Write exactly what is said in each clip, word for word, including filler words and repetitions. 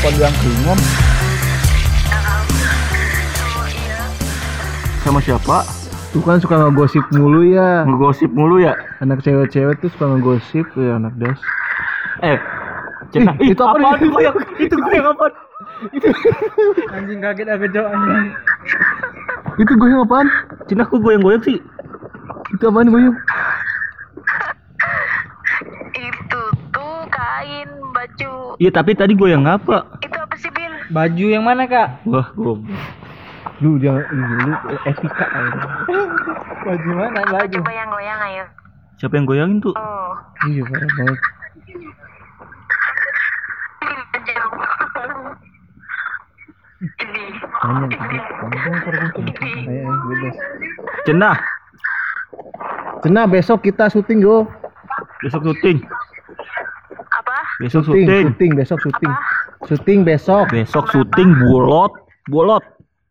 yang keringan. Sama siapa? Tuh kan suka ngegosip mulu ya. Ngegosip mulu ya? Anak cewek-cewek tuh suka ngegosip ya anak das. Eh, Cenah, Ih, itu apa apaan nih? goyang? Itu goyang apaan? Anjing kaget aku cok anjing. Itu goyang apaan? Cenah kok goyang-goyang sih? Itu apaan goyang? Itu tuh kain baju. Iya, tapi tadi goyang apa? Itu apa sih, Bil? Baju yang mana kak? Wah, goblok. Lu jangan lu, lu etika aja. Baju mana baju? Coba yang goyang ayo. Siapa yang goyangin tuh? Oh. Iya parah banget. Ini. Tanya tadi. Ayo ayo bebas. Cenah, Cenah besok kita syuting yo. besok syuting. Apa? Besok Syuting, syuting. syuting besok syuting. Syuting besok. Besok syuting bolot, bolot.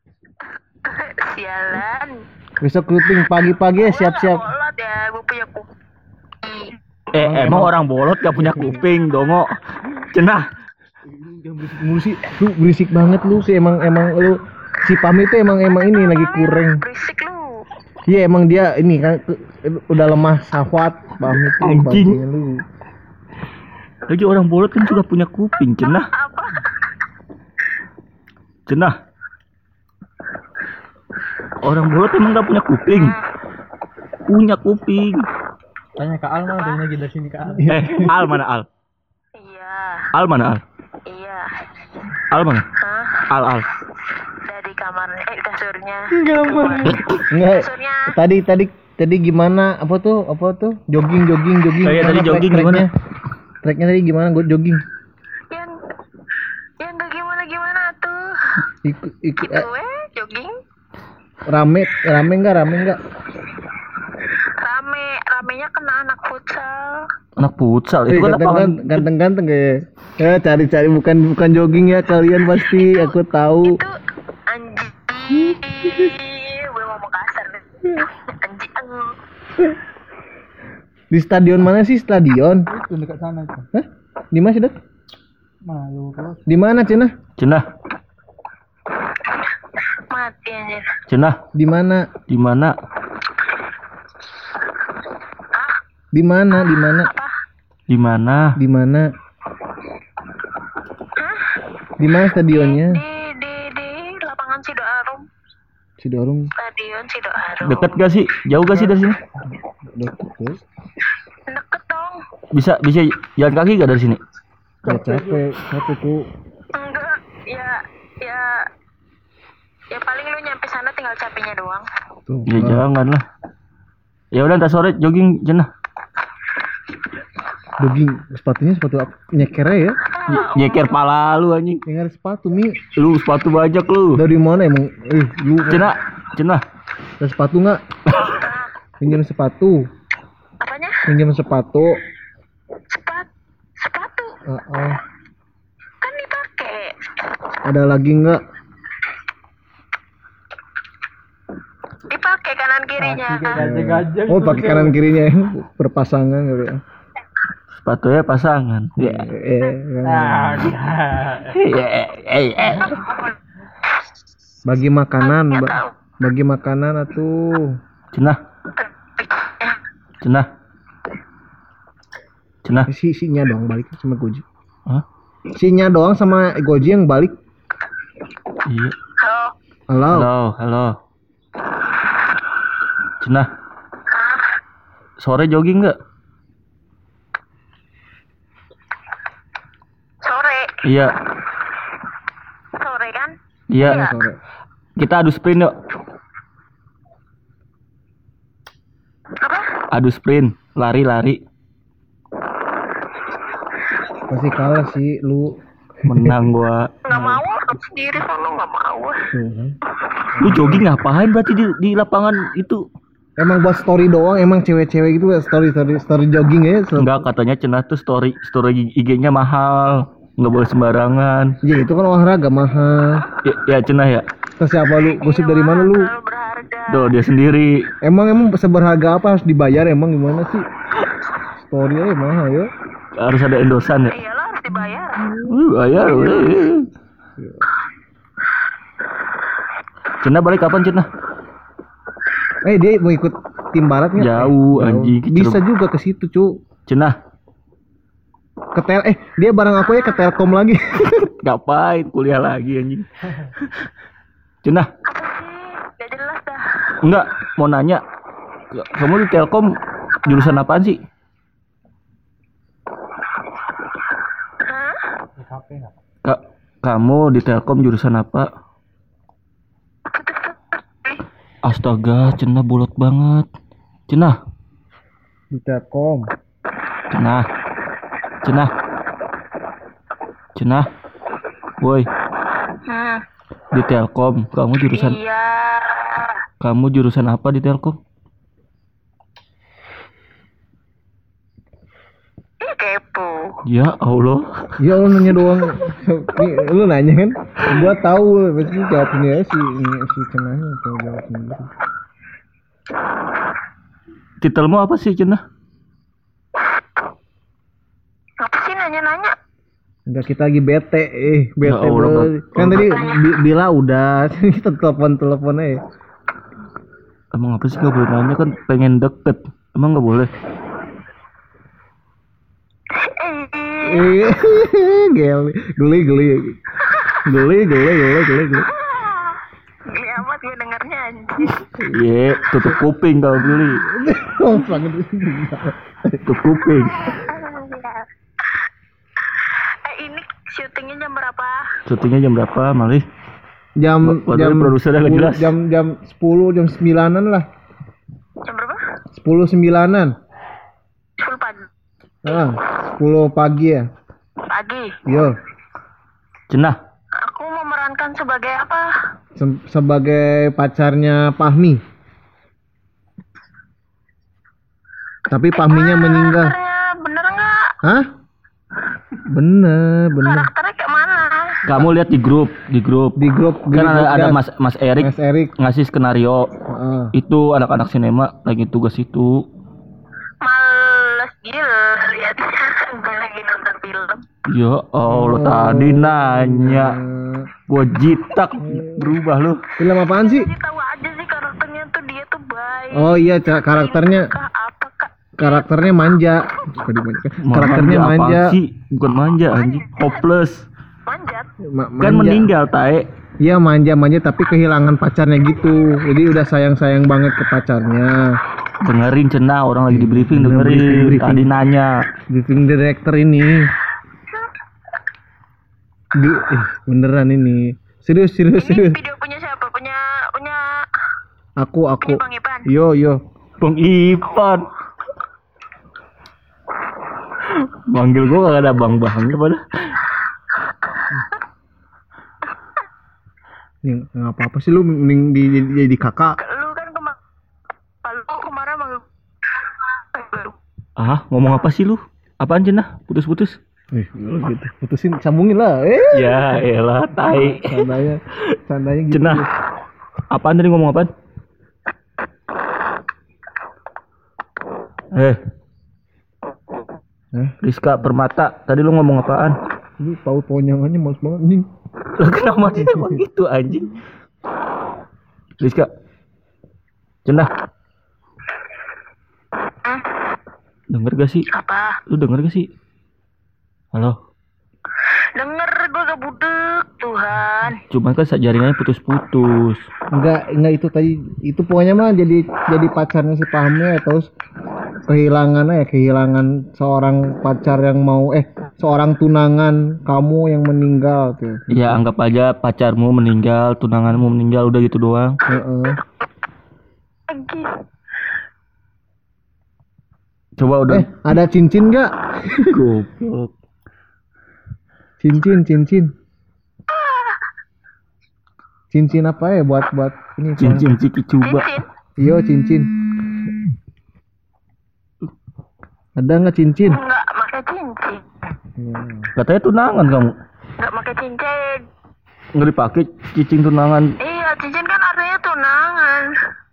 Sialan. Besok syuting pagi-pagi ya siap-siap. Bolot ya, gue punya kuki. Eh, emang orang bolot gak punya kuping, dongo. Cenah. Jangan berisik mulu sih. Lu berisik banget lu sih emang emang lu si Pami itu emang emang ini lagi kurang. Berisik lu. Iya emang dia ini kan ke- udah lemah syahwat Pami tuh Anjing. bagian lu. Lagi orang bolot kan juga punya kuping, cenah. Apa? Cenah. Orang bolot emang gak punya kuping. Punya kuping. Tanya ke Al mana tanya lagi dari sini ke Al. Eh, Al mana Al? Iya. Al mana Al? Iya. Al mana? Hah? Al Al. Dari kamarnya, eh kasurnya. Enggak. Kasurnya. Tadi tadi tadi gimana apa tuh apa tuh jogging jogging jogging. Oh iya, tadi Gimana jogging track-tracknya? gimana? Tracknya tadi gimana gue jogging? Yang yang gak gimana gimana tuh. Ikut ikut Gitu eh, eh, jogging. rame rame enggak rame enggak? Rame, ramenya kena anak futsal. Anak futsal Eh, itu kan lapangan. ganteng ganteng ganteng kayak ya cari-cari bukan bukan jogging ya kalian pasti aku tahu. Itu anjing. Gue ngomong kasar nih. Anjing. Di stadion mana sih stadion? Itu dekat sana itu. Hah? Di mana sih, Dok? Malu kalau Di mana, Cina? Cenah, Mati anjir. cenah, Di mana? di mana? Di mana? Di mana? Apa? Di mana? Di mana? Di mana stadionnya? Di di di lapangan Sidoarum. Cidorum. Stadion Sidoarum. Deket gak sih? Jauh gak sih dari sini? Deket tuh. Deket dong. Bisa bisa jalan kaki gak dari sini? Ya, capek, capek tuh. Enggak, ya ya ya paling lu nyampe sana tinggal capeknya doang. Tuh. Ya jangan lah. Ya udah ntar sore jogging cenah. Jogging sepatunya sepatu apa? Nyeker ya? Ny- nyeker pala lu anjing. Nyeker sepatu Mi. Lu sepatu bajak lu. Dari mana emang? Eh, lu Cenah, cenah. ada sepatu nggak? Pinjam sepatu. Apanya? Pinjam sepatu. Sepat sepatu Ah, ah. kan dipakai. Ada lagi nggak? Dipakai kanan kirinya. gajah-gajah. Oh, pakai kanan kirinya ya. Berpasangan gitu ya. Sepatunya pasangan. Ya. Eh, Ah, Eh, eh, eh. bagi makanan, ba- bagi makanan atuh. Cenah, cenah. Cenah. Si sinya doang balik sama Goji. Hah? Sinya doang sama Goji yang balik. Iya. Halo. Halo. Halo, halo. Cenah. Sore jogging nggak? Sore. Iya, Sore kan? iya. Iya. Sore. Kita adu sprint yuk. Apa? Adu sprint, lari-lari. Pasti kalah sih lu. Menang gua. Nggak mau, aku sendiri sono nggak mau. Tuh, kan. Lu jogging ngapain berarti di, di lapangan itu? Emang buat story doang, emang cewek-cewek gitu story story story jogging ya. Sel- Enggak, katanya cenah tuh story story I G-nya mahal. Nggak boleh sembarangan. Ya itu kan olahraga mahal. Ya, ya cenah ya. Terus siapa lu? Gosip dari mana lu? Terlalu berharga. Tuh dia sendiri. Emang emang seberharga apa harus dibayar emang gimana sih? Story aja mahal ya. Harus ada endosan ya. Iyalah harus Harus dibayar. Uh, bayar. weh. Cina balik kapan Cina? Eh dia mau ikut tim barat nggak? Jauh, Eh, anjing. Bisa juga ke situ cu. Cina Ke tel eh dia bareng aku ya ke Telkom lagi. ngapain kuliah lagi anjing? Cina Apa sih? Gak jelas dah. enggak mau nanya. Kamu di Telkom jurusan apaan sih? Hah? Di K P nggak? Ka- kamu di Telkom jurusan apa? Astaga, Cina bolot banget. Cina, Di Telkom. Cina, Cina, Cina, woi, Hmm. di Telkom. Kamu jurusan, Iya. kamu jurusan apa di Telkom? Ih, kepo. Ya Allah, Ya lu nanya doang. Nih, lu nanya kan? Gua tahu, pasti jawabnya si si cenanya atau jawab sendiri. titelmu apa sih Cina? Apa sih nanya-nanya? Enggak kita lagi bete, eh bete Ya Allah, bro. Bang. Kan tadi Bi- Bila udah, kita telepon-telepon aja. Emang apa sih nggak boleh nanya kan? Pengen deket, emang nggak boleh? Eh, Eh, geli, geli, geli, geli, geli, geli, geli, geli. geli amat gue dengernya anjir. Iya, tutup kuping kalau beli, Oh, sangat. tutup kuping. Eh, ini syutingnya jam berapa? Syutingnya jam berapa, Malih? Jam Waduh, jam produsernya nggak sepuluh, jelas. jam jam sepuluh jam sembilanan lah. Jam berapa? Sepuluh sembilanan. Full pagi. Ah, sepuluh pagi ya. Pagi. Yo, Cenah, Aku memerankan sebagai apa? se- sebagai pacarnya Pahmi. Tapi Pahminya meninggal. Karakternya bener nggak? Hah? Bener, bener. Karakternya kayak mana? kamu lihat di grup, di grup. Di grup Kan di ada, grup ada gas. Mas Mas Erik Mas Erik. ngasih skenario. Heeh. Itu anak-anak sinema lagi tugas itu. Males gila liatnya. Gue lagi nonton film. Ya Allah, tadi nanya. Gua jitak berubah lu. Film apaan sih? Jadi tahu aja sih karakternya tuh dia tuh baik. Oh iya, ca- karakternya Kah apa kak? karakternya manja. Suka dimanjakan. Ma- Karakternya apaan manja. sih? Bukan manja anjing. Hopeless. Manjat. Ma- Kan manja. meninggal, Tae. Iya manja-manja tapi kehilangan pacarnya gitu. Jadi udah sayang-sayang banget ke pacarnya. Dengerin Cenah, orang lagi di briefing, Bener, dengerin. briefing, briefing. Tadi nanya. Briefing director ini. Di- eh, beneran ini. Serius, serius, Ini serius. video punya siapa? Punya punya Aku, aku. punya Bang Ipan. Yo, yo. Bang Ipan. Manggil gua gak ada bang-bangnya pada. Nih, nggak apa-apa sih lu mending di, di- jadi kakak. Lu kan kemarin lu kemarin manggil Ah, ngomong apa sih lu? Apaan Cenah? Putus-putus. Eh, lu gitu. Putusin, sambungin lah. Eh, Ya elah, tai. sandanya, sandanya gitu. Cenah. Apaan tadi ngomong apaan? Eh, Eh, Rizka Permata, tadi lu ngomong apaan? lu tahu ponyangannya males banget nih. Lu kenapa dia emang gitu anjing? Rizka. Cenah. Denger gak sih? apa? Lu denger gak sih? Halo. Denger gue gak budek Tuhan. Cuman kan jaringannya putus-putus. Enggak, enggak itu tadi. Itu pokoknya mah jadi jadi pacarnya si Pahmi terus kehilangan ya, kehilangan seorang pacar yang mau eh seorang tunangan kamu yang meninggal tuh. Ya anggap aja pacarmu meninggal, tunanganmu meninggal, udah gitu doang. Heeh. Lagi. Coba udah. Eh, ada cincin enggak? Goblok. Cincin, cincin. Cincin apa ya buat buat ini? Cincin ciki coba. Cincin. Iya, cincin. Ada nggak cincin? Enggak pakai cincin. Ya. Katanya tunangan kamu. Enggak pakai cincin. Nggak dipakai cicing tunangan. Iya, cincin kan artinya tunangan.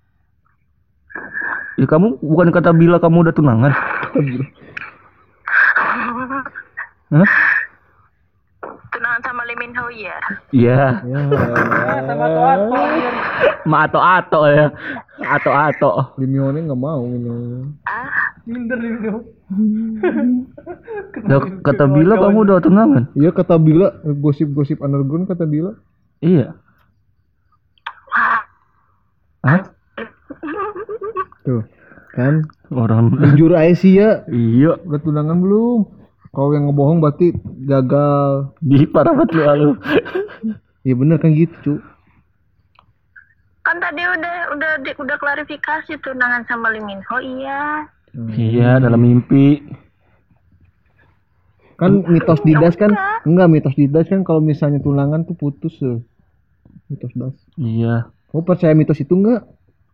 Ya kamu bukan kata bila kamu udah tunangan. Hah? Minho ya. Iya. Ya. Ah, sama Ato-Ato. Ma ato-ato ya. Ato-ato. Limione nggak mau ini. Ah, Minder nih Minho. Loh, kata Bila kamu udah tunangan? Iya kata Bila, gosip-gosip underground kata Bila. Iya. Hah? Tuh, kan Orang jujur aja sih ya. iya. Udah tunangan belum? Kalau yang ngebohong berarti gagal. Di parah banget lu lu. Iya bener kan gitu, cu. kan tadi udah udah di, udah klarifikasi tunangan sama Lee Min Ho, iya. Iya, dalam mimpi. Kan mitos didas kan enggak mitos didas kan kalau misalnya tunangan tuh putus tuh. Mitos das. Iya. Kamu percaya mitos itu enggak?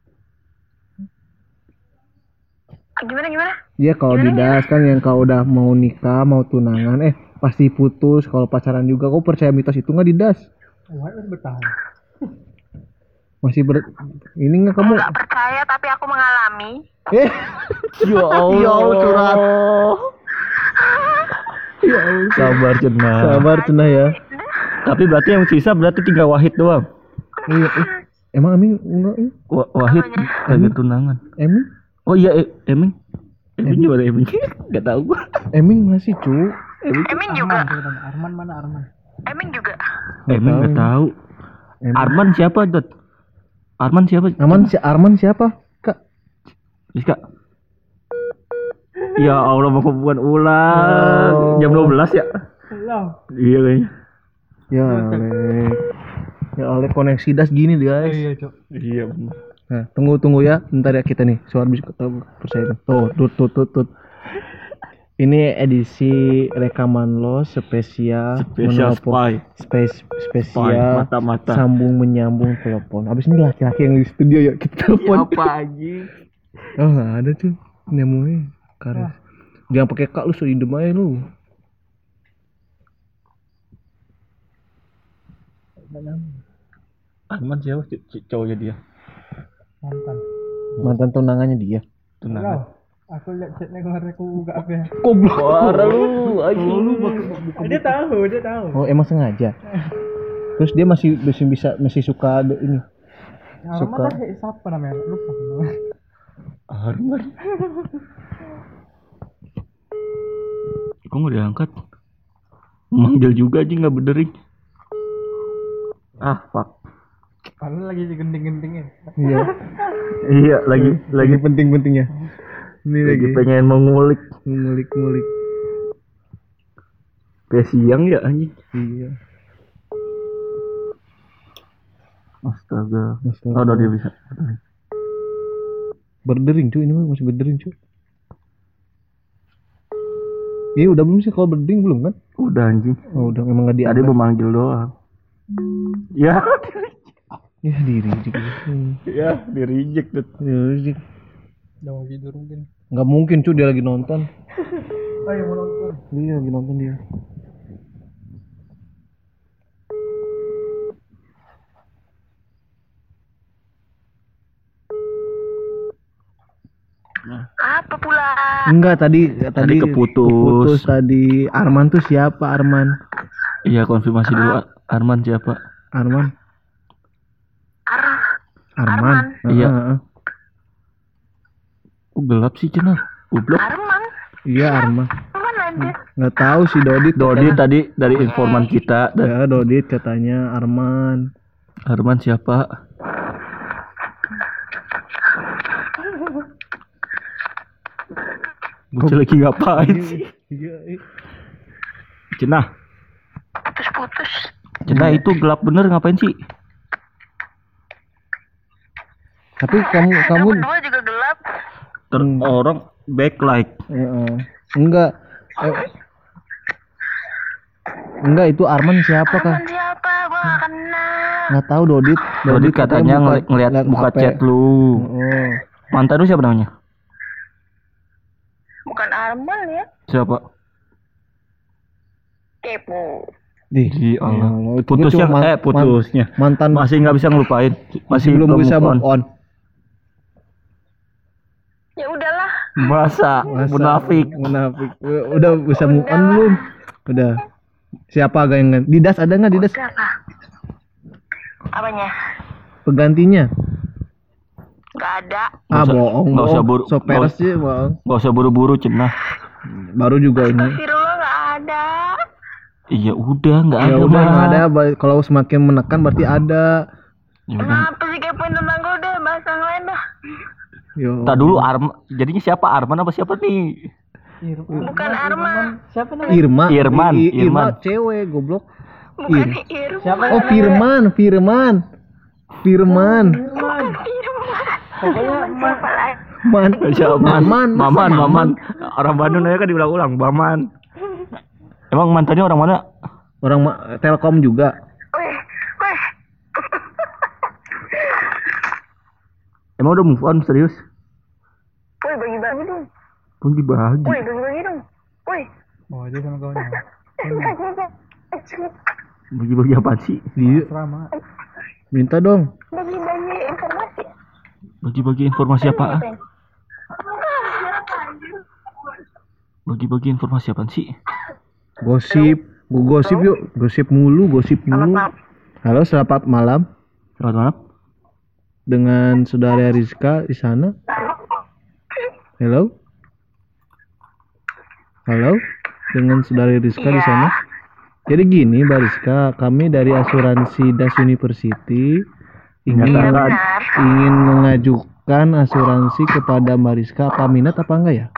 Gimana gimana? Iya kalau didas kan yang kau udah mau nikah, mau tunangan eh pasti putus, kalau pacaran juga. Kau percaya mitos itu enggak didas? Wah, harus bertahan. Masih ber ini enggak kamu? Nggak percaya tapi aku mengalami. Eh, Ya Allah. Ya Allah, curhat. Ya Allah. Sabar cenah. Sabar cenah ya. Tapi berarti yang sisa berarti tinggal Wahid doang. Iya, eh. Emang Amin enggak? Eh? Wa- Wahid kagak tunangan. Emin? Oh iya, e- Eming. Eming gimana Eming? Gak tahu gua. Emin masih, cu. Emin juga. Arman, sebenarnya. Arman mana Arman? Emin juga. Nggak Eming tahu. gak tahu. Emin. Arman siapa, Dot? Arman siapa? Aman si Arman siapa? Kak. Rizka. Ya Allah, mau hubungan ulang. Oh. Jam dua belas ya? Lah. Iya kayaknya. Ya oleh. Ya oleh koneksi das gini guys. Iya, Cok. Iya benar. Nah, tunggu tunggu ya. Bentar ya kita nih. Suara bisa ketemu percaya. Tuh, tut tut tut tut. Ini edisi rekaman lo spesial Spesial menelpon- spy. Spes, Spy, spesial mata-mata. sambung menyambung telepon. Abis ini laki-laki yang di studio ya kita telepon. aja? Oh nggak ada tuh. Nemunya karet. Jangan pakai kak lu, so idem aja lu. Arman siapa? C- c- cowoknya dia. Mantan. Mantan tunangannya dia. Tunangan. Lah. Aku lihat chatnya kemarin aku buka apa ya? Goblok. Parah lu, anjing. Dia tahu, dia tahu. Oh emang sengaja. Terus dia masih masih bisa masih suka ada ini. Arman suka. lah, eh, siapa namanya? Lupa namanya. Arman. Kok nggak diangkat? Manggil juga aja nggak benerin. Ah, fuck. Padahal lagi gending-gendingnya. Iya. Iya, lagi Lagi lagi penting-pentingnya. Ini lagi lagi pengen mengulik. ngulik-ngulik. Kayak siang ya anjing. Iya. Astaga. Astaga. Oh, udah dia bisa. Berdering cuy, ini mah masih berdering cuy. Iya udah belum sih, kalau berdering belum kan? Udah anjing. Oh udah, emang nggak Tadi diangkat. mau manggil doang. Ya, Ya diri juga. Hmm. ya di reject tuh. Ya, sih. Udah mau tidur mungkin. Nggak mungkin cuy, dia lagi nonton. Ayo mau nonton. Iya lagi nonton dia. Apa pula? Enggak tadi tadi keputus. keputus tadi. Arman tuh siapa Arman? Iya, konfirmasi dulu. Ar- Arman siapa? Arman. Ar Arman. Arman. Iya. Heeh, heeh. Kok gelap sih cenah? Goblok. Arman. Iya Arman. Arman aja. Nggak tahu sih Dodit. Dodi tadi dari informan kita. Da- Ya Dodit katanya Arman. Arman siapa? Bocah lagi ngapain sih? Iya. eh. Cenah, Putus-putus. cenah itu gelap bener ngapain sih? Tapi kamu kamu Kamu berdua juga gelap. Ter orang backlight. Heeh. Enggak. Eh, enggak itu Arman siapa kah? Arman siapa? Gua gak kenal. Nggak tahu Dodit. Dodi katanya ngeli- ngeliat buka H P. chat lu. Oh. Mantan lu siapa namanya? Bukan Arman ya? Siapa? Kepo. Di, Di Allah. Ya Allah, itu Putusnya cuma man- eh putusnya. mantan Masih nggak bisa ngelupain. masih belum bisa move on. Ya udahlah. Masa Masa- munafik. Munafik. Udah bisa move on belum? Udah. Siapa agak yang Didas ada nggak Didas? Siapa? Apanya? Penggantinya? Nggak ada. Ah usah- bohong, nggak usah bohong. buru- So peres nggak sih bohong. Gak usah buru-buru cenah. Baru juga ini. Astagfirullah nggak ada. Iya udah nggak Ya ada udah mah. nggak ada. ba- Kalau semakin menekan berarti ada. Ya udah. Kenapa sih kepoin tentang gue udah bahas yang lain dah. Yo. Tak dulu Arman, jadinya siapa Arman apa siapa nih? Irman. Bukan Arman. Siapa namanya? Irma. Irman, I- I- Irma Irman. cewek goblok. Bukan Ir- Irma. Siapa Oh Firman, Firman. Firman. Irman. Irma. Pokoknya Irman. Siapa lagi? Man. Siapa? Maman, masa Maman, Maman. Orang Bandung aja kan diulang-ulang, Maman. Emang mantannya orang mana? Orang ma- Telkom juga. Wih, wih. Emang udah move on serius? Wih, bagi-bagi dong. Pun dibagi. Wih, bagi-bagi dong. Wih. Oh, dia sama kawannya. Bagi-bagi apa sih? Dia Serama. minta dong. Bagi-bagi informasi. Bagi-bagi informasi apa? Bagi-bagi informasi apa sih? Gosip, gua gosip yuk, gosip mulu, gosip mulu. Maaf. Halo, selamat malam Selamat malam. dengan saudara Rizka di sana. Halo, halo, dengan saudara Rizka di Iya. sana. Jadi gini, Mbak Rizka, kami dari asuransi Das University ingin Iya Nyatakan. benar. ingin mengajukan asuransi kepada Mbak Rizka. Apa minat apa enggak ya?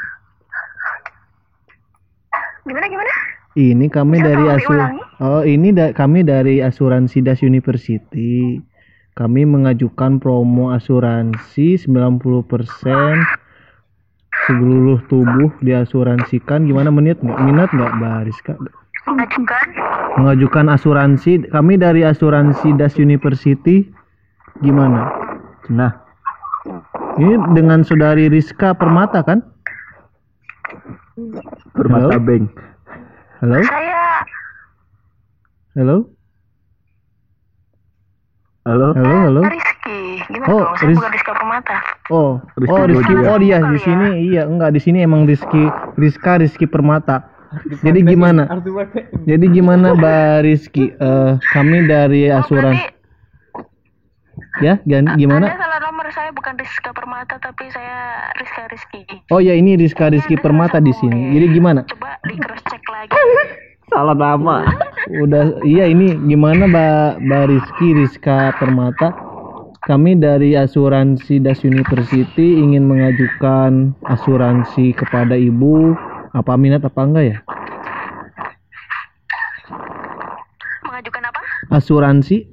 Gimana gimana? Ini kami Bisa dari tolong asu diulangi? Oh, ini da- kami dari asuransi Das University. Kami mengajukan promo asuransi sembilan puluh persen seluruh tubuh diasuransikan. Gimana menit nggak? Minat nggak, Mbak Rizka? Mengajukan. Mengajukan asuransi. Kami dari asuransi Das University. Gimana? Nah, Ini dengan saudari Rizka Permata kan? Permata Halo? Bank. Halo? Saya Halo? Halo. Halo, halo. Rizky. Gimana Oh, dong? Saya Riz- bukan Rizka Permata. Oh, Rizky oh Rizky, Gojo. oh dia di Kali sini ya. iya enggak di sini emang Rizky Rizka Rizky Permata. Jadi gimana? Harus dipakai. Jadi gimana Mbak Rizky? Eh, kami dari Oh, asuransi berarti ya, gan- Anda gimana? salah nomor. Saya bukan Rizka Permata, tapi saya Rizka Rizky. Oh ya ini Rizka Rizky Iya, ada Permata di salah sini. sambung, Jadi ya. gimana? Coba di cross check lagi. Salah nama. Udah iya ini gimana Mbak Mbak Rizky Rizka Permata? Kami dari asuransi Das University ingin mengajukan asuransi kepada Ibu. Apa minat apa enggak ya? Mengajukan apa? Asuransi?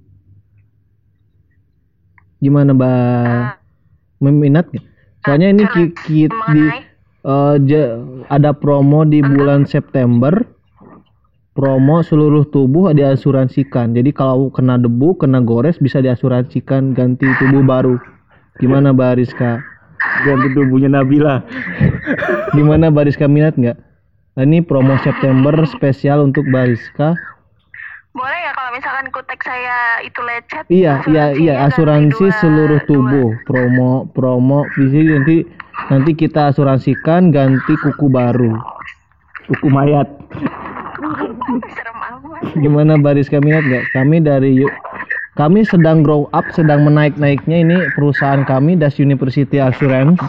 Gimana Mbak? Meminat nggak? Soalnya ini ki, ki- di Mengenai eh, ja- ada promo di bulan September. Promo seluruh tubuh diasuransikan. Jadi kalau kena debu, kena gores bisa diasuransikan ganti tubuh baru. Gimana Mbak Rizka? Ganti tubuhnya Nabila. Gimana Mbak Rizka minat nggak? Nah, ini promo September spesial untuk Mbak Rizka. boleh ya kalau misalkan kutek saya itu lecet? Iya, iya, iya, asuransinya asuransi ganti dua- seluruh dua. tubuh. Promo, promo. Bisa nanti nanti kita asuransikan ganti kuku baru. Kuku mayat. Serem amat. Gimana Baris kami minat nggak? Kami dari yuk. Kami sedang grow up, sedang menaik-naiknya ini perusahaan kami Das University Assurance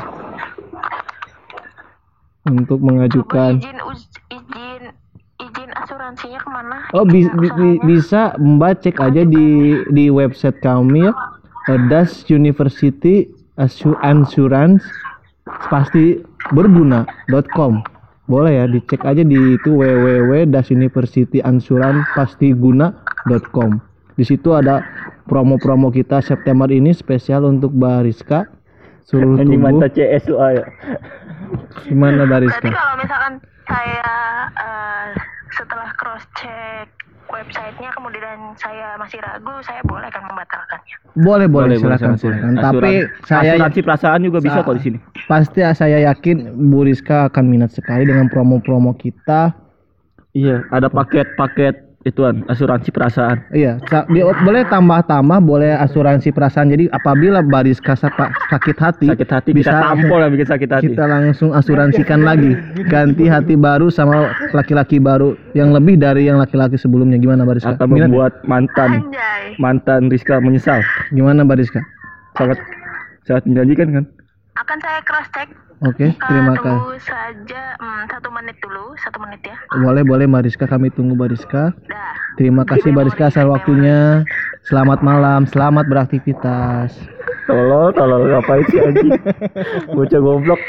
untuk mengajukan. Izin uz- izin izin asuransinya kemana? Oh bi- Izin bi- bi- usahanya? bisa Mbak cek aja di di website kami ya. eh, Das University Assu- Insurance pasti berguna dot com. Boleh ya dicek aja di itu w w w titik das university insurance pasti guna dot com. Di situ ada promo-promo kita September ini spesial untuk Bariska seluruh Anjing tubuh. mantap C S U A ya. Gimana Berarti Bariska? kalau misalkan saya eh, setelah cross check websitenya kemudian saya masih ragu, saya boleh kan membatalkannya? Boleh boleh, Boleh, silakan boleh, silakan. silakan. Tapi Asuran- saya asuransi perasaan juga bisa Sa- kok di sini. pasti saya yakin Bu Rizka akan minat sekali dengan promo-promo kita. Iya, ada paket-paket ituan asuransi perasaan. Iya, sa- di- boleh tambah-tambah, boleh asuransi perasaan. Jadi apabila Bariska sa- sakit hati, Sakit hati bisa kita tampol lah bikin sakit hati. kita langsung asuransikan lagi, ganti hati baru sama laki-laki baru yang lebih dari yang laki-laki sebelumnya. Gimana Bariska? Akan Minat ya? membuat mantan Anjay. mantan Rizka menyesal. Gimana Bariska? Sangat sangat menjanjikan kan? Akan saya cross check. Oke, terima kasih. Tunggu saja hmm, satu menit dulu, satu menit ya. Boleh boleh Bariska, kami tunggu Bariska. Dah. Terima kasih Bariska atas waktunya. Selamat malam, selamat beraktivitas. Tolol, tolol ngapain sih anjing? Bocah goblok.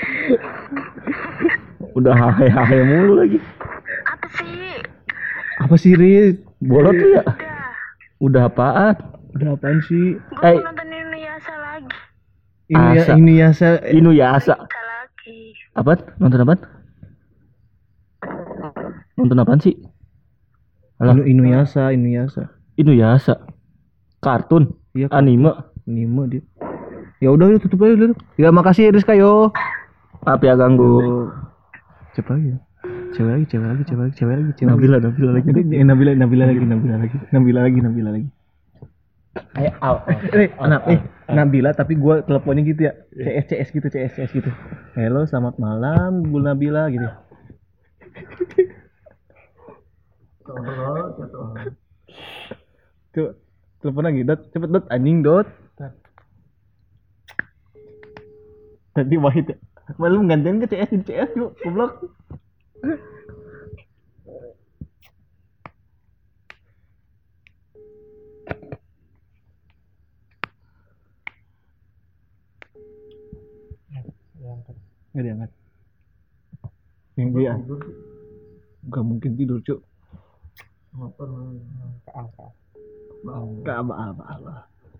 Udah hahe-hahe mulu lagi. Apa sih? Apa sih Riz? Bolot lu ya? Dah. Udah apaan? Udah apaan sih? Gue Eh. mau nonton Inuyasha lagi. Ini ya, Asa. ini ya saya Inuyasha. Bisa lagi. Apaan? Nonton apaan? Nonton apaan sih? Alah, Inu, Inuyasha, Inuyasha. Inuyasha. Kartun, Iya, anime. Anime dia. Ya udah, udah tutup aja dulu. Ya makasih Rizka yo. Maaf ya ganggu. Siapa lagi ya? Cewek lagi, cewek lagi, cewek lagi, cewek lagi, cewek lagi. Nabila, Nabila lagi. Eh, Nabila, Nabila lagi, Nabila lagi, Nabila lagi, Nabila lagi. Ayo, aw, Eh, anak, eh, Nabila tapi gua teleponnya gitu ya. C S C S gitu, C S C S gitu. Halo, selamat malam Bu Nabila gitu. Coba telepon lagi, Dot. Cepet Dot, anjing Dot. Tadi Wahid ya. Malu menggantikan ke C S di C S yuk, goblok. Nggak diangkat. Yang dia nggak mungkin tidur cuk. Nggak apa-apa.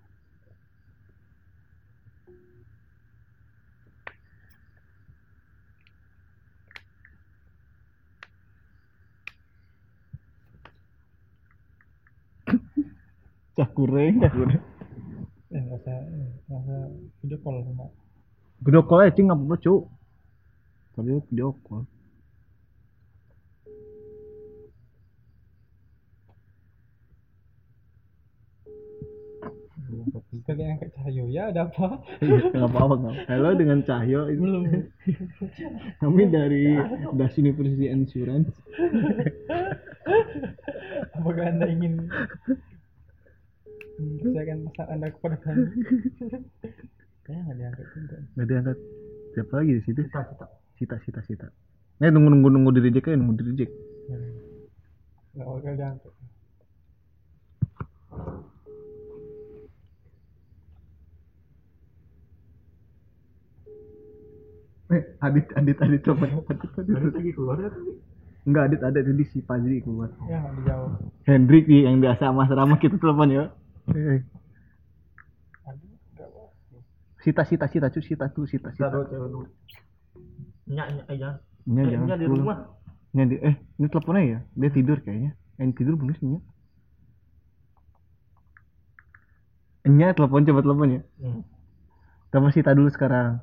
Cah kureng, cah kureng. Eh, nggak usah, eh, nggak usah video call sama. Video call aja nggak apa-apa cuk. Tapi video call. Sekali angkat Cahyo, ya ada apa? Nggak apa-apa nggak. Halo dengan Cahyo. Belum. Kami dari Das University Insurance. Apakah Anda ingin saya akan pesan Anda kepada kami? Kayaknya nggak diangkat juga. Nggak diangkat. Siapa lagi di situ? Sita, Sita. Sita, Sita, Sita. Eh nunggu nunggu nunggu di reject aja, nunggu di reject. Nggak bakal diangkat. Eh, Adit, Adit, Adit, coba. Adit, Adit, Adit lagi keluar ya tadi? Enggak, Adit ada tadi si Fajri keluar. Ya nggak dijawab. Hendrik nih yang biasa sama Rama kita telepon ya. Eh, Aduh, nggak apa. Sita, Sita, Sita, cu, Sita tuh, Sita, Sita. Nyak, nyak aja. Nya jangan. di keluar. rumah. Nya di, eh, ini teleponnya ya? Dia tidur kayaknya. Yang tidur belum sih Nya? Nya telepon, coba telepon ya. Hmm. Telepon Sita dulu sekarang.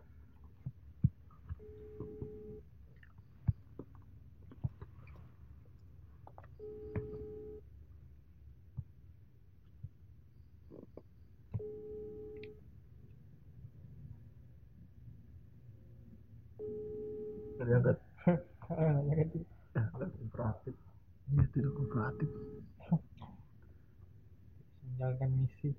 Diangkat. Ah, nggak diangkat. Kooperatif. Iya, tidak kooperatif. Menjalankan misi.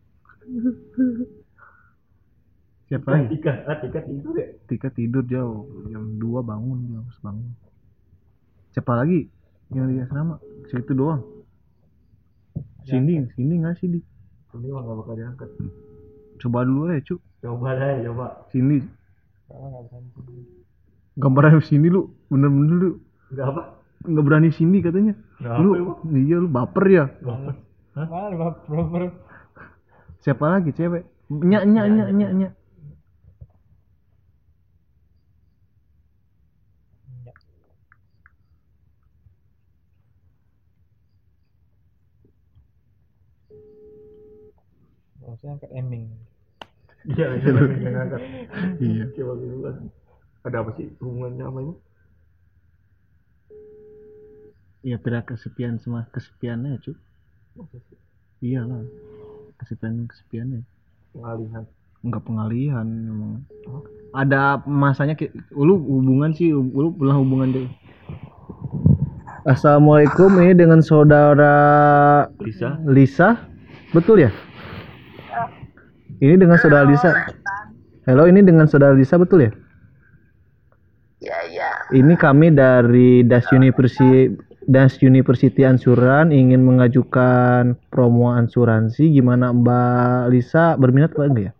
Siapa lagi? Tika, ah, Tika tidur ya. Tika tidur jauh. Jam dua bangun, dia harus bangun. Siapa lagi? Yang di asrama? Si itu doang. Sini, sini nggak sih di? Ini mah gak bakal diangkat. Coba dulu ya, Cuk. Coba deh, coba. Sini. Kalau nggak berani. Gambarnya sini lu, bener-bener lu. Enggak apa? Nggak berani sini katanya. Nggak Lu, apa, iya lu baper ya. Baper. Hah? Malah proper. Siapa lagi cewek? Nyak, nyak, nyak, nyak, nyak. Harusnya angkat Eming. Iya, iya, yang ngangkat. Iya. Coba duluan. Ada apa sih hubungannya sama ini? Ya pira kesepian sama kesepiannya cu. Iyalah. Kesepian kesepiannya. Pengalihan. Enggak pengalihan memang. Ada masanya ki- lu hubungan sih, lu pernah hubungan deh. Assalamualaikum, ini dengan saudara Lisa. Lisa, betul ya? Ini dengan saudara Lisa. Halo, ini dengan saudara Lisa, betul ya? Ya, ya. Ini kami dari Das University, Das University Ansuran ingin mengajukan promo ansuransi. Gimana Mbak Lisa, berminat apa enggak ya?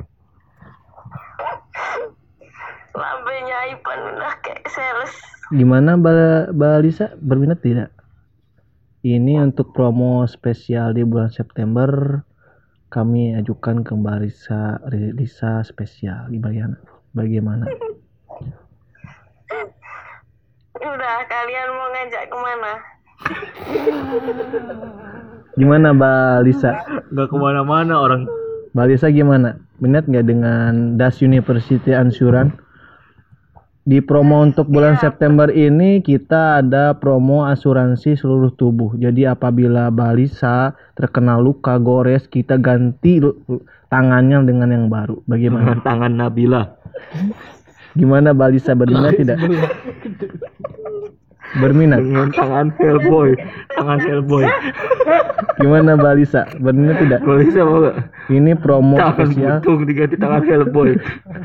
Lambenya Ipan udah kayak sales. Gimana Mbak, Mbak Lisa, berminat tidak? Ini untuk promo spesial di bulan September. Kami ajukan ke Mbak Lisa, Lisa spesial. Bagaimana? Bagaimana? Udah, kalian mau ngajak kemana? Gimana Mbak Lisa? Nggak kemana-mana orang. Mbak Lisa gimana? Minat nggak dengan Das University Ansuran? Di promo untuk bulan September ini kita ada promo asuransi seluruh tubuh. Jadi apabila Mbak Lisa terkena luka gores, kita ganti lu- tangannya dengan yang baru. Bagaimana? Dengan tangan Nabila. Gimana Mbak Lisa, berminat tidak? Berminat? Dengan tangan Hellboy. Tangan Hellboy. Gimana Mbak Lisa, berminat tidak? Kalau bisa mau nggak? Ini promo Tangan spesial. butung diganti tangan Hellboy.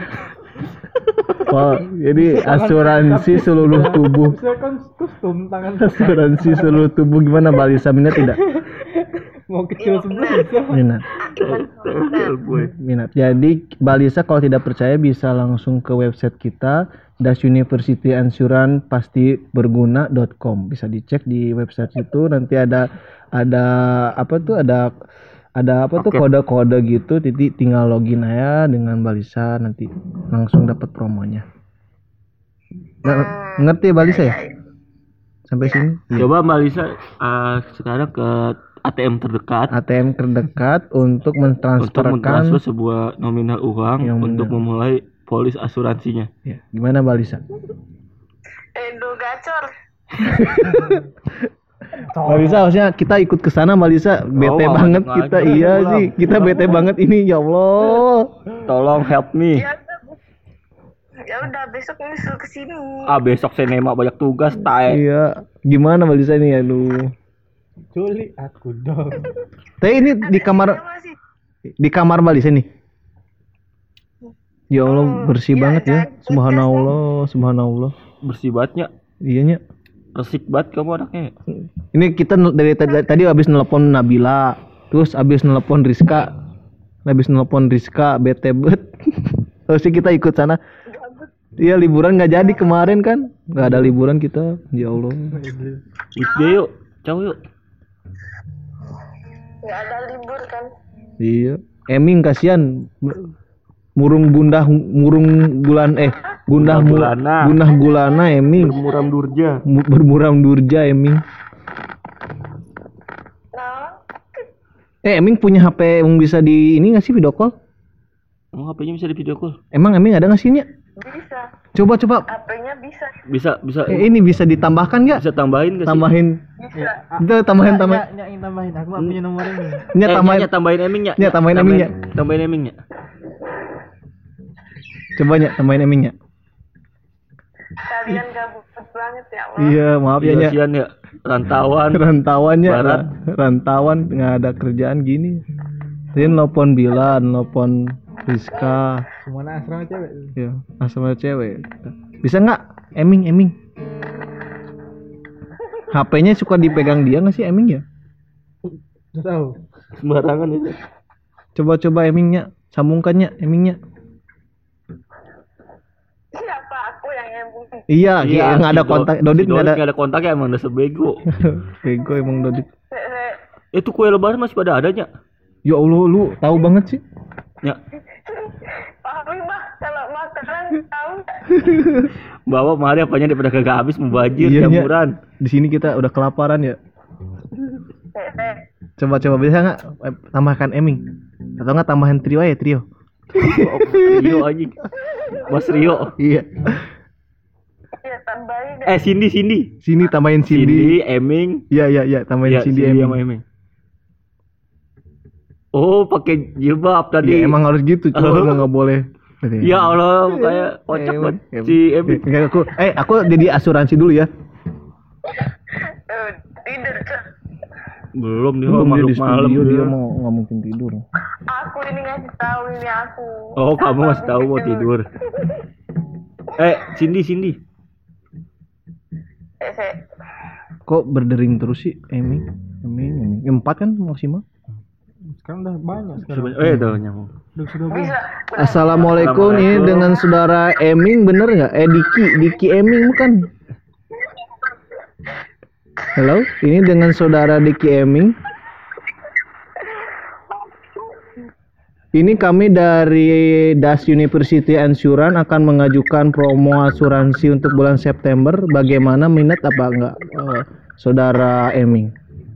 Oh, jadi asuransi seluruh tubuh. Bisa kan kostum tangan Asuransi seluruh tubuh, gimana Mbak Lisa, minat tidak? mau kecil sebelah bisa. Minat. Tangan Hellboy. Minat. Jadi Mbak Lisa kalau tidak percaya bisa langsung ke website kita Das University Ansuran pasti berguna dot com. Bisa dicek di website itu, nanti ada ada apa tuh ada ada apa tuh Oke. kode-kode gitu, jadi tinggal login aja dengan Mbak Lisa, nanti langsung dapat promonya. Nggak- ngerti Mbak Lisa ya? Sampai sini? Iya. Coba Mbak Lisa uh, sekarang ke A T M terdekat A T M terdekat untuk untuk mentransferkan. mentransfer sebuah nominal uang Yang untuk benar. memulai polis asuransinya. Ya, gimana Mbak Lisa? Edo gacor. Mbak Lisa harusnya kita ikut ke sana Mbak Lisa, bete Oh, banget ngajak kita, ngajak, iya pulang. sih, kita bete banget ini, ya Allah. Tolong help me. Ya udah. Ya udah, besok nyusul ke sini. Ah besok saya nema banyak tugas tae. Iya, gimana Mbak Lisa ini, aduh. Culik aku dong. Tapi ini di kamar, Ada masih. di kamar Mbak Lisa nih. Ya Allah, bersih iya, banget ya, jangan subhanallah, subhanallah. Bersih bangetnya. Iya nya. Resik banget kamu anaknya. Ini kita nel- dari tadi, tadi habis nelpon Nabila, terus habis nelpon Rizka, habis nelpon Rizka, bete bet. Terus kita ikut sana. Iya, liburan nggak jadi kemarin kan, nggak ada liburan kita, ya Allah. Weekday yuk. Ciao yuk. Nggak ada libur kan? Iya, Eming kasihan, murung gundah, murung bulan eh gundah mu- Gulana. gundah gulana Eming, Bermuram durja. Mu- bermuram durja Eming. Nah, Eh Eming punya H P yang bisa di ini nggak sih video call? Emang H P-nya bisa di video call? Emang Eming ada nggak sih nya? bisa. Coba coba, H P-nya bisa. Bisa bisa eh, ini bisa ditambahkan nggak? bisa tambahin nggak sih? Tambahin, Bisa. itu tambahin tambahin, Nyak, nyak, tambahin. Aku nggak punya nomor ini. nya Eh, tambahin, Nya, tambahin Eming ya. Nya, tambahin Eming, Nya. Tambahin Eming ya. coba nya tambahin Eming nya. Kalian gabut banget ya, Allah. Iya maaf ya nya. Kasihan ya rantauan. Rantauannya, Barat. rantauan nggak ada kerjaan gini. Tadi nelpon Bilan, nelpon Rizka, Semuanya asrama cewek. ya asal cewek. Bisa nggak Eming Eming? H P-nya suka dipegang dia nggak sih Eming ya? Udah tahu. Sembarangan itu. Coba-coba Emingnya, sambungkannya Emingnya. Siapa aku yang nyambung? Iya, iya nggak ada si Do- kontak. si Dodit nggak ada. nggak ada kontak ya emang dasar bego. Bego emang Dodit. Itu kue lebaran masih pada adanya. Ya Allah, lu tahu banget sih. Ya, Pak mah kalau makanan tahu nggak? bawa mari apanya daripada kagak habis mubajir Iya, Nya. jamuran. Di sini kita udah kelaparan ya. Eh, Coba-coba bisa nggak eh, tambahkan Eming? Atau nggak tambahan trio ya trio? Rio anjing. Mas Rio. Iya. Ya tambahin Eh Cindy Cindy. Sini tambahin Cindy, Cindy. Eming. Iya iya iya tambahin Ya, Cindy, Cindy Eming. sama Eming. Oh, pakai jilbab tadi. Iya, emang harus gitu, cuy. Oh. Emang nggak boleh. Ya Allah, kayak kocak banget Emang. si Eming. Kayak aku, eh aku jadi asuransi dulu ya. Eh, tidur Cok. Belum dia Belum dia makhluk di malam studio, dia dia. mau nggak mungkin tidur. Aku ini ngasih tahu ini aku. Oh, kamu Apa masih tahu mau tidur. Eh, Cindy Cindy. Eh, saya- Kok berdering terus sih, Eming? Eming, Eming. Empat kan maksimal? Sekarang udah banyak sekarang. Eh, tuh nyambung. Udah sudah banyak. bisa. Assalamualaikum, ini Assalamualaikum. dengan saudara Eming, bener nggak? Eh Diki, Diki Eming bukan? Halo, ini dengan saudara Diki Eming. Ini kami dari Das University Insurance akan mengajukan promo asuransi untuk bulan September. Bagaimana, minat apa enggak, eh, saudara Eming?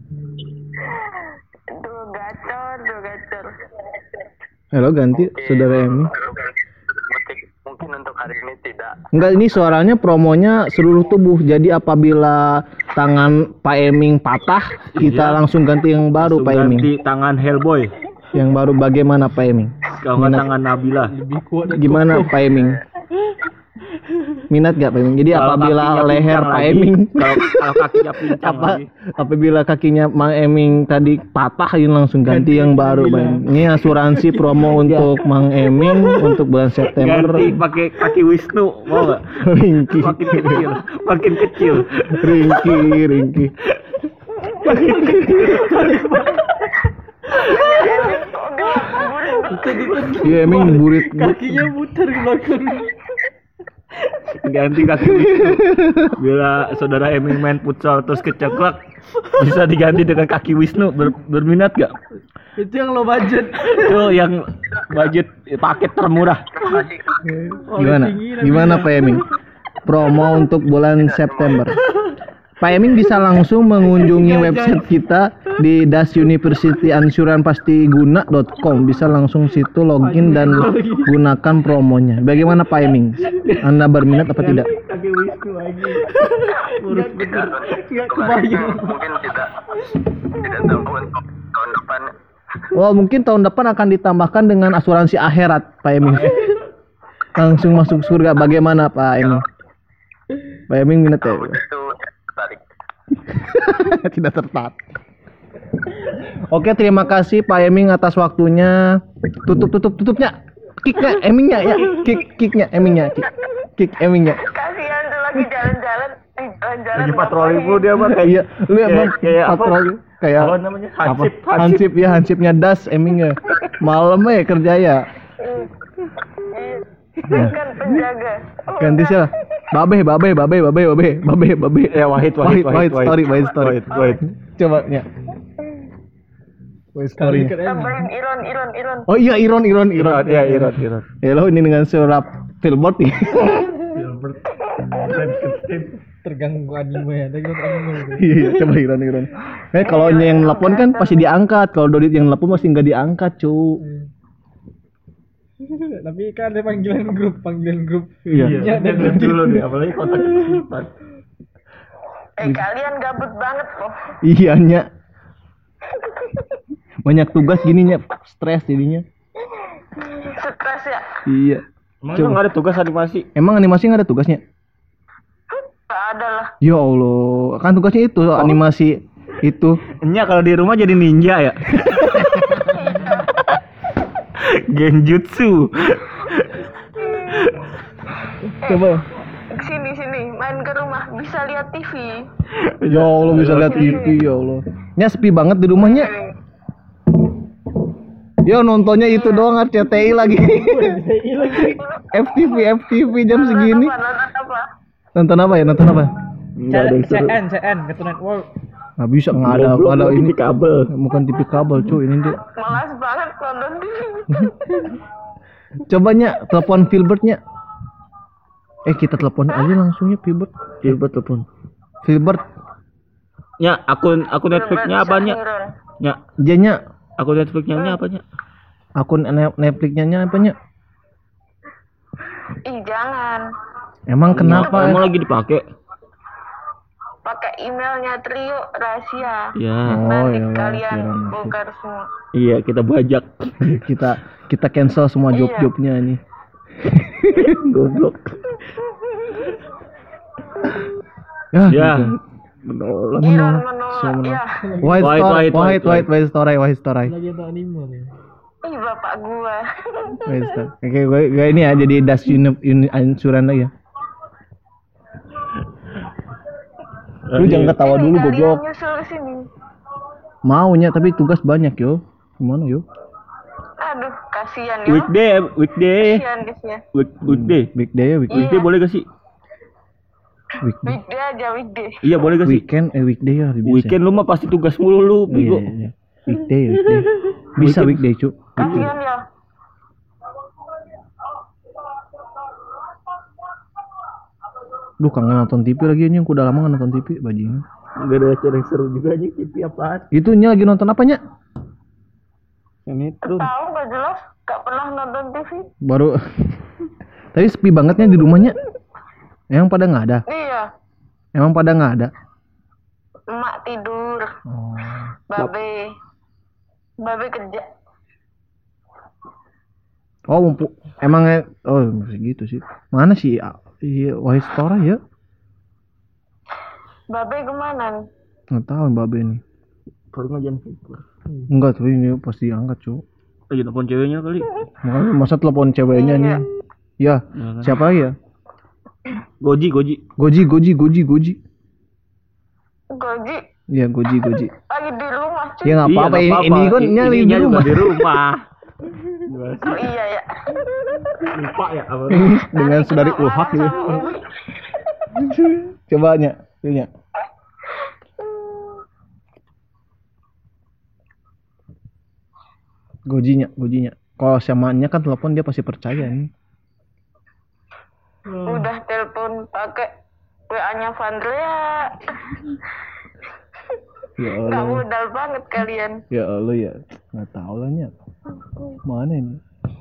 Duh gacor, duh gacor. Halo, ganti saudara Eming. Mungkin untuk hari ini tidak. Enggak, ini suaranya promonya seluruh tubuh. Jadi apabila tangan Pak Eming patah, kita Iya. langsung ganti yang baru, Langsung Pak Eming. ganti tangan Hellboy. Yang baru bagaimana, Pak Eming? Kalau nggak Minat. tangan Nabila. Lebih kuat dari Gimana, Koko. Pak Eming? Minat gak, Pak Eming? Jadi Kalau apabila kakinya leher pincang Pak lagi, Eming kalau kalau kakinya pincang apa lagi. apabila kakinya Mang Eming tadi patah, ini langsung ganti yang baru, Pak Eming. Ini asuransi promo untuk Mang Eming untuk bulan September. Ganti pakai kaki Wisnu, mau nggak? Ringki, Makin kecil, makin kecil. Ringki, Ringki. Iya, Eming burit. Kakinya muter ke belakang. Ganti kaki Wisnu. Bila saudara Eming main futsal terus keceklek, bisa diganti dengan kaki Wisnu. Ber- berminat gak? Itu yang lo budget. Itu yang budget paket termurah. Gimana? Gimana Pak Eming? Promo untuk bulan September. Pak Eming bisa langsung mengunjungi website kita di das university insurance pastiguna dot com. Bisa langsung situ login dan gunakan promonya. Bagaimana Pak Eming? Anda berminat apa tidak? Kaki Wisnu lagi. Urus bener. Enggak kebayang. Mungkin tidak. Tidak tahu untuk tahun depan. Wah, mungkin tahun depan akan ditambahkan dengan asuransi akhirat, Pak Eming. Langsung masuk surga. Bagaimana Pak Eming? Pak Eming minat ya? Itu tarik. Tidak tertarik. Oke, terima kasih Pak Eming atas waktunya. Tutup tutup tutupnya. Kicknya Emingnya ya. Kick kicknya Emingnya. Kick, kick Emingnya. Kasihan tuh lagi jalan-jalan, eh, jalan-jalan. Lagi patroli ngapain? mulu dia mah kayak Iya, lu ya kayak- Bang, kayak apa? patroli kayak Apa namanya? apa? Hansip, hansip. Hansip ya, hansipnya das Emingnya. Malam ya kerja ya. Iya. Kan penjaga. Oh, Ganti siapa? Babe, babe, babe, babe, babe, babe, babe. Ya Wahid, Wahid, Wahid, Wahid, story, Wahid story. Wahid, Wahid. Coba ya. Wahid story. tambahin Iron, Iron, Iron. Oh iya, Iron, Iron, Iron. Iron, ya Iron, Iron. Hello, ini dengan surat Filbert nih. Terganggu anime ya. Terganggu anime. Iya, coba Iron, Iron. Eh, kalau yang nelpon kan pasti diangkat. Kalau Dodit yang nelpon pasti nggak diangkat, cu. Tapi kan ada panggilan grup, panggilan grup. Iya. Ya, Dia dan belum dulu nih, apalagi kontak kesulitan. Eh kalian gabut banget loh. Iya, Nya. Banyak tugas gininya, stres jadinya. Stres ya. Iya. Emang Coba. nggak ada tugas animasi? Emang animasi nggak ada tugasnya? Gak ada lah. Ya Allah, kan tugasnya itu animasi itu. Nya kalau di rumah jadi ninja ya. Genjutsu. Coba. Sini sini, main ke rumah bisa lihat T V. Ya Allah, bisa lihat T V, ya Allah. Nya sepi banget di rumahnya. Yo, nontonnya itu doang, R C T I lagi. F T V, F T V jam segini. Nonton apa? Nonton apa? Nonton apa ya? Nonton apa? Nggak ada yang C seru. N, C N, Cartoon Network. Nggak bisa, nggak ada, Goblok, ada ini ini kabel. bukan T V kabel, cuy, ini dia. Malas banget nonton T V. Coba Nya, telepon Filbertnya. Eh, kita telepon aja langsungnya Filbert. Gilbert telepon. Filbert, Nya, akun akun Netflixnya apa Nya? Nya, dia Nya, akun Netflixnya Nya apa Nya? akun Ne- Netflixnya Nya apa Nya? Ih jangan. Emang kenapa? Emang lagi dipakai? pakai emailnya Trio rahasia. Ya. Oh, Nanti ya, kalian kirain. bongkar semua. Iya, kita bajak. kita kita cancel semua Iya. job-jobnya nih. Goblok. Ya, Ya. gitu. Menolak. Iron Menolak. menolak. So, menolak. Ya. White White, story, white, white, white, white, white story, white story. Lagi ada anime nih. Ih bapak gua. White story. Oke, gue, gue ini ya jadi das uni, uni ansuran lagi ya. Lu jangan ketawa Ini dulu kalian goblok. nyusul sini. Maunya tapi tugas banyak yo. Gimana yo? Aduh, kasihan ya. Weekday, weekday, Kasihan kasihan. Week, weekday. Big day ya, weekday. Weekday boleh gak sih? Weekday. Weekday aja weekday. Iya boleh gak sih? Weekend eh weekday ya lebih bisa. Weekend lu mah pasti tugas mulu lu, Iya, bego. iya, iya. Weekday, weekday. Bisa weekday, Cuk. Kasihan ya. Duh, kangen nonton T V lagi anjing, udah lama nggak nonton T V, bajingan. Enggak ada acara yang seru juga aja, T V apaan? Itunya lagi nonton apanya? Sinetron. Tahu gak jelas, gak pernah nonton T V. Baru tapi sepi bangetnya di rumahnya. Emang pada nggak ada? Iya, Emang pada nggak ada? emak tidur, Oh. babe, babe kerja. Oh, mumpuk. Emang oh masih gitu sih. Mana sih? Iya, Wahid Stora ya? Babe kemana? Nggak tahu Babe nih. Baru ngajian figur. Enggak, tapi ini pasti angkat, Cuk. Lagi telepon ceweknya kali. Makanya masa telepon ceweknya nih. Ya, siapa lagi ya? Goji, Goji. Goji, Goji, Goji, Goji. Goji Iya, Goji, Goji. lagi di rumah cuy. Ya nggak Iya, apa-apa, nggak ini, apa-apa. ini kan I- nyali di ininya juga rumah. di rumah. Oh iya ya. Lupa ya apa? Dengan Nanti saudari kena Ulhak marah gitu. sama Umi. Coba nya, nya. Gojinya, gojinya. Kalau samanya kan telepon dia pasti percaya nih. Udah telepon pakai W A-nya Vandrea. Ya Gak Allah, modal banget kalian. ya Allah ya. Nggak tahu lah nya. Mana ini?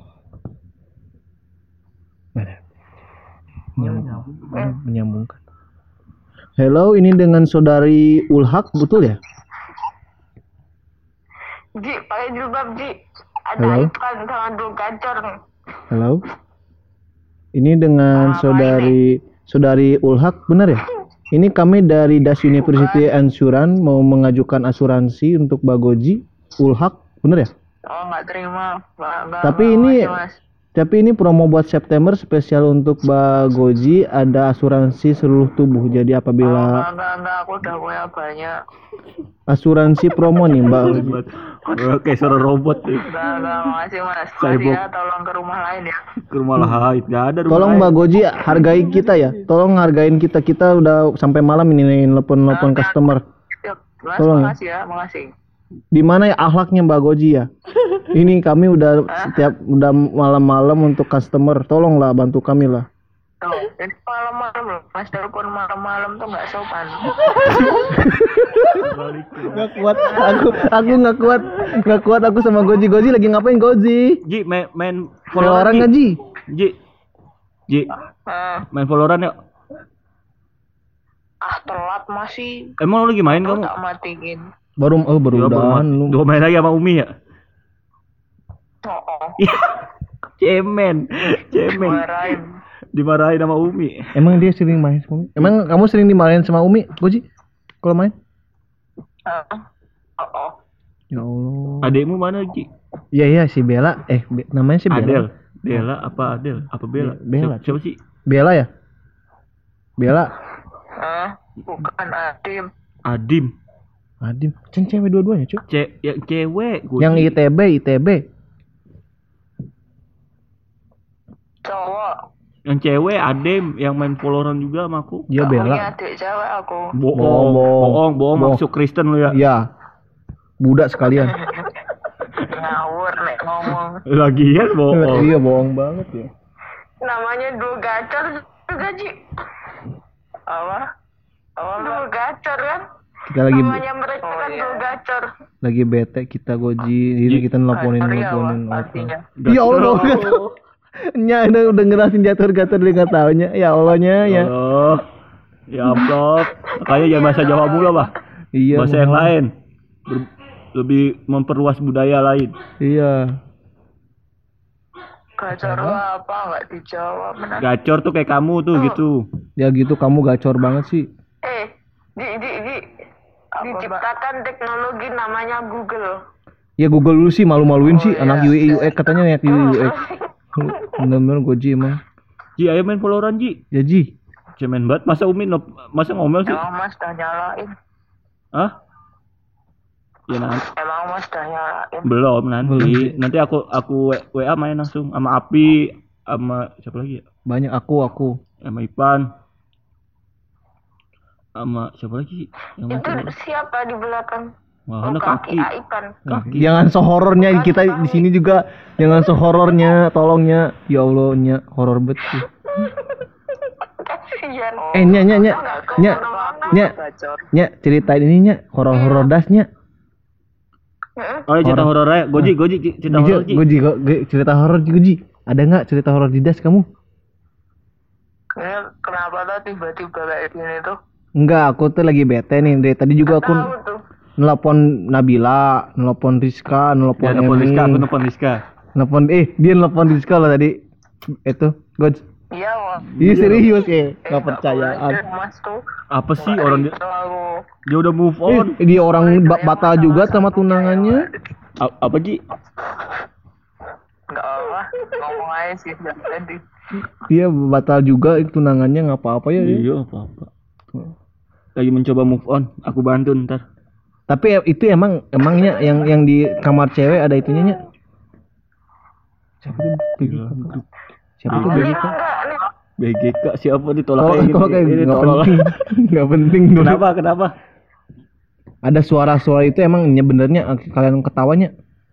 Mana? Menyambung, menyambungkan. Hello, ini dengan saudari Ulhak, betul ya? Ji, pakai jilbab Ji. Ada Halo? iklan sama dua gacor nih. Halo. Ini dengan Apa saudari saudari Ulhak, benar ya? Ini kami dari Das University Ansuran mau mengajukan asuransi untuk Bagoji Ulhak, benar ya? Oh nggak terima. Nggak- nggak Tapi mau ini aja, Mas. tapi ini promo buat September spesial untuk Bagoji, ada asuransi seluruh tubuh. Jadi Oh, apabila enggak, enggak, enggak, aku udah punya banyak. asuransi promo nih, Mbak. Oke, suara robot nih. Enggak, enggak, makasih Mas. Saya Makasih bok- ya, tolong ke rumah lain ya. Ke rumah lain, enggak ada rumah Tolong lain. Mbak Goji hargai kita ya. Tolong hargain kita. Kita udah sampai malam ini nih nelpon-nelpon customer. Yuk, Mas, Tolong ya. makasih ya, makasih. Di mana ya akhlaknya Mbak Goji ya? Ini kami udah setiap udah malam-malam untuk customer. Tolonglah bantu kami lah. Tuh, ini malam-malam loh. Mas telepon malam-malam tuh nggak sopan. Nggak kuat. Aku aku nggak kuat. Nggak kuat aku sama Goji. Goji lagi ngapain Goji? Ji, main main Valorant Ji. nggak Ji? Ji. Ji, Ah, main Valorant yuk. ah telat masih. Emang lu lagi main Aku kamu? tak matiin. Baru oh baru Ya, baru udahan main. lu. Dua main lagi sama Umi ya? Oh, oh. Iya. Cemen. Cemen. Marahin. Dimarahin sama Umi. Emang dia sering main sama Umi? Emang kamu sering dimarahin sama Umi, Goji? Kalau main? Ah, oh, oh. Ya Allah. Adekmu mana, Ji? Iya iya si Bella. Eh Be- namanya si Bella. Adel. Bella apa Adel? Apa Bella? Be- Bella. Siapa, siapa sih? Bella ya? Bella. Ah, bukan Adim. Adim. Adim. Cen cewek dua-duanya, Cuk. Ce yang cewek. Gua Yang Ji. I T B, I T B. Cowok. Yang cewek Adem yang main Valorant juga sama aku. Dia Gak punya Bella. adik cewek aku. Bohong. Bohong. Bohong, bohong, Bohong. masuk Kristen lu ya. Iya. Budak sekalian. Ngawur nek ngomong. Lagian bohong. Iya, bohong banget ya. Namanya dua gacor juga Ji. Apa? Apa dua gacor kan? Kita lagi Namanya mereka kan dua gacor. lagi bete kita Goji, ini kita nelponin Gacor ya, nelponin Pak, artinya. Ya Allah, nggak tahu. Nya udah udah ngerasin jatuh gator dia nggak taunya. Ya Allahnya ya. Oh. Ya amplop. Makanya jangan bahasa Jawa mulu, Pak. Iya. Bahasa yang lain. Ber- lebih memperluas budaya lain. Iya. Gacor apa nggak dijawab benar. Gacor tuh kayak kamu tuh gitu. Ya gitu kamu gacor banget sih. Eh, di di di diciptakan teknologi namanya Google. Ya Google dulu sih malu-maluin sih anak U I U X katanya anak U I U X. Bener-bener goji emang. Ji, ayo main Valorant Ji. Ya Ji. Cemen banget. Masa Umi no- masa ngomel sih? Emang Mas udah nyalain. Hah? Ya nanti. Emang Mas udah nyalain. Belum nanti. Belum. Nanti aku aku W A main langsung sama Api, sama siapa lagi ya? Banyak aku aku. Sama Ipan. Sama siapa lagi? Yang Itu masih siapa di belakang? Wah, Oh, ada kaki kaki. Aipan. Kaki. Jangan sehorornya kita di sini juga. Jangan sehorornya, tolongnya. Ya Allah, nya horor bet sih. Kasihan. Eh, nya nya nya. Nya. Nya. Nya ceritain ini nya horor-horor dasnya. Oh, cerita horor aja. Goji, Goji, cerita horor Ji. Goji, Goji, cerita horor Goji. Ada nggak cerita horor di das kamu? Ini kenapa tuh tiba-tiba kayak gini tuh? Enggak, aku tuh lagi bete nih. Dari tadi juga aku Tahu tuh. nelpon Nabila, nelpon Rizka, nelpon Ya, nelpon Emi. Rizka, aku nelpon Rizka. Nelpon eh dia nelpon Rizka loh tadi. Itu, Goj. Iya, Mas. Iya serius ya, nggak Boleh, percayaan. Mas tuh. Apa sih orang dia, Selalu. dia udah move Eh, on? dia orang ba- batal juga sama tunangannya. A- apa Ji? Enggak apa, ngomong aja sih dari tadi. Dia batal juga tunangannya nggak apa-apa ya. dia. Iya, apa-apa. Lagi mencoba move on, aku bantu ntar. Tapi ya, itu emang emangnya yang yang di kamar cewek ada itunya nya. Siapa tuh? Siapa tuh? Iya. B G K? Enggak, nih. B G K siapa ditolak Tolak, kayak tolak kayak gini? Ini nggak tolol. penting, nggak penting dulu. Kenapa? Kenapa? Ada suara-suara itu emangnya benernya kalian ketawanya?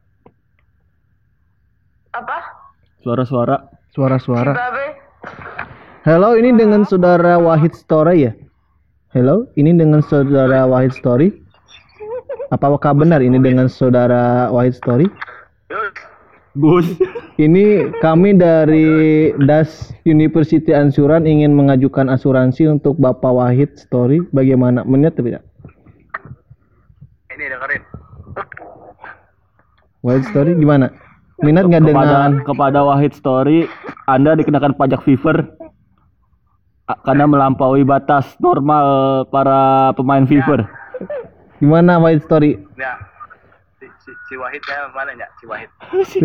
Apa? Suara-suara. Suara-suara. Babe. Halo, ini dengan saudara Wahid Story ya? Halo, ini dengan saudara Wahid Story. Apakah benar ini dengan saudara Wahid Story? Gus. Ini kami dari D A S University Ansuran ingin mengajukan asuransi untuk Bapak Wahid Story. Bagaimana? Menit tidak? Ini dengerin. Wahid Story gimana? Minat nggak kepada dengan? kepada Wahid Story, Anda dikenakan pajak Fiver a- karena melampaui batas normal para pemain Fiver. Gimana Wahid Story? Ya. Si, si, si Wahidnya mana ya? Si Wahid.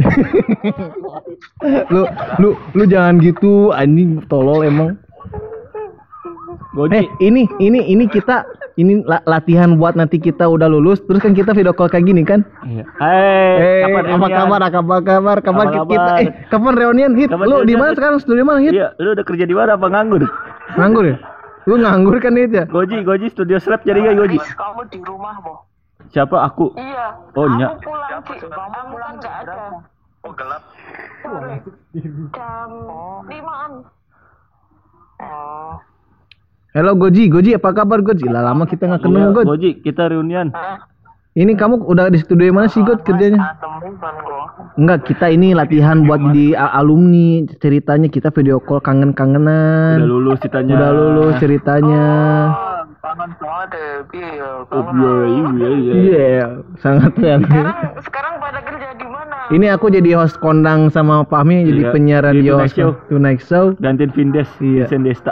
Lu lu lu jangan gitu anjing tolol emang. Goji. Eh ini ini ini kita ini la- latihan buat nanti kita udah lulus terus kan kita video call kayak gini kan? Iya. Hey, Eh kapan apa reunian? kabar? Apa kabar? Kapan Apa kita kabar? eh kapan reunian hit? Kapan Lu di reunian, mana Hit? sekarang? Studio mana hit? Iya, lu udah kerja di mana apa nganggur? Nganggur ya? Lu nganggur kan hit ya? Goji, Goji studio slap jadi gak Goji? Mas, kamu di rumah, Bo. Siapa aku? Iya. Oh, Kamu nyak. pulang, Ci. Kamu pulang enggak ada. Oh gelap. Sore. Jam limaan. Oh. Halo Goji, Goji apa kabar Goji? Lah lama kita nggak ketemu Iya, Goji. Goji, kita reunian. Ini kamu udah di studio mana sih Goji kerjanya? Temen kan gua. Enggak, kita ini latihan buat jadi a- alumni ceritanya kita video call kangen-kangenan. Udah lulus ceritanya. Udah lulus ceritanya. Oh, kangen banget deh, piye ya. Oh, Kangen. iya, iya, iya. Iya, sangat keren. Sekarang sekarang pada kerja di mana? Ini aku jadi host kondang sama Fahmi jadi Iya, penyiar di radio Tonight Show. Tonight Show. Gantiin Vindes, Iya. Vincent Desta.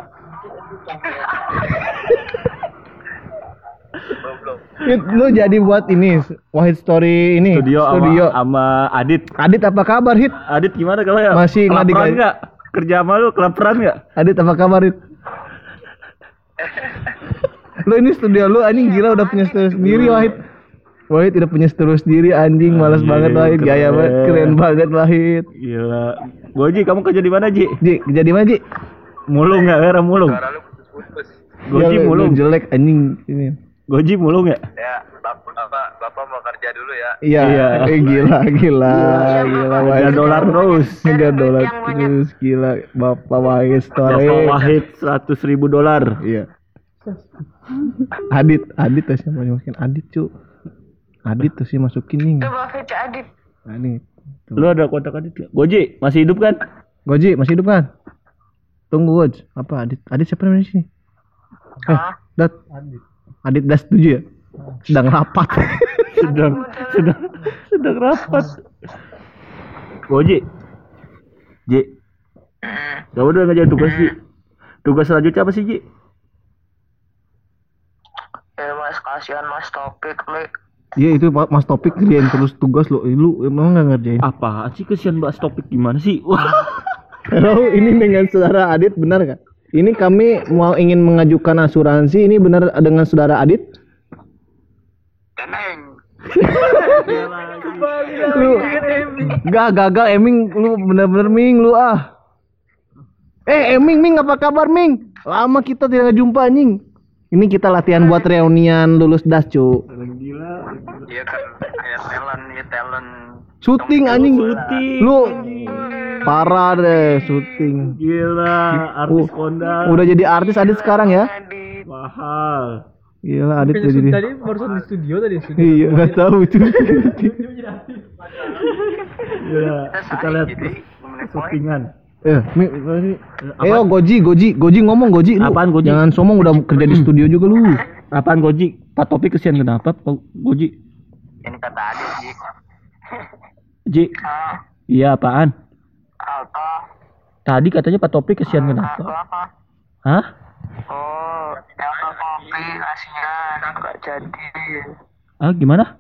Belum. Hit, lu jadi buat ini Wahid Story ini Studio, studio. Sama, sama Adit. Adit apa kabar Hit? Adit gimana kalau ya? Masih nggak kelaparan digaji. nggak? Kerja sama lu kelaparan nggak? Adit apa kabar Hit? Lu ini studio lu anjing gila udah punya studio sendiri Wahid. Wahid udah punya studio sendiri anjing malas Anjing, banget Wahid gaya keren. banget keren banget Wahid. Gila. Goji, kamu kerja di mana Ji? Ji jadi mana Ji? Mulung nggak? Era mulung. Suara lu putus-putus. Goji Ya, lu- mulung. lu jelek anjing ini. Goji mulung ya? Ya, bapak, bapak, bapak mau kerja dulu ya. Iya, Iya. eh, gila gila gila Ada Wahid. dolar terus. Tiga dolar Yang banyak. terus gila Bapak Wahid Story. Bapak Wahid seratus ribu dolar. Iya. Adit, Adit tuh siapa masukin Adit cu. Adit tuh sih masukin nih. Coba Feca Adit. Adit. Tuh. Lu ada kontak Adit nggak? Goji, masih hidup kan? Goji masih hidup kan? Tunggu Goj. Apa Adit? Adit siapa namanya sih? Eh, Dat, Adit. Adit das setuju ya? Sedang rapat. sedang sedang sedang rapat. Oh Ji, Ji, kamu udah ngerjain tugas Ji. Tugas selanjutnya apa sih Ji? Ya mas, kasihan mas Topik li. Iya itu Pak Mas Topik kerjain terus tugas lo. Lu emang nggak ngerjain? Apaan sih, kesian bahas topik gimana sih? Wah. Halo, ini dengan saudara Adit benar kan? Ini kami mau ingin mengajukan asuransi. Ini benar dengan saudara Adit? Teneng. Lu gak gagal Eming, lu bener-bener Ming lu ah. Eh Eming Ming apa kabar Ming? Lama kita tidak jumpa anjing. Ini kita latihan buat reunian lulus das cu. Iya kan, kayak talent, ya talent. Syuting anjing. Syuting. Lu parah deh syuting. Gila, artis kondang. Udah jadi artis Adit sekarang ya? Mahal. Gila Adit Bukannya jadi. tadi barusan di studio tadi studio. Iya nggak tahu itu. Gila, kita lihat syutingan. Eh, Mi, ini. Eh, oh, Goji, Goji, Goji ngomong Goji. Lu Apaan, Goji? Jangan sombong udah kerja di studio juga lu. Apaan Goji? Pak Topik kesian kenapa? Pak Goji. Ini kata Adit sih. Ji. Iya apaan? Apa? Tadi katanya Pak Topik kesian kenapa? Apa? Hah? Oh, yang kopi kasihan nggak jadi. Ah gimana?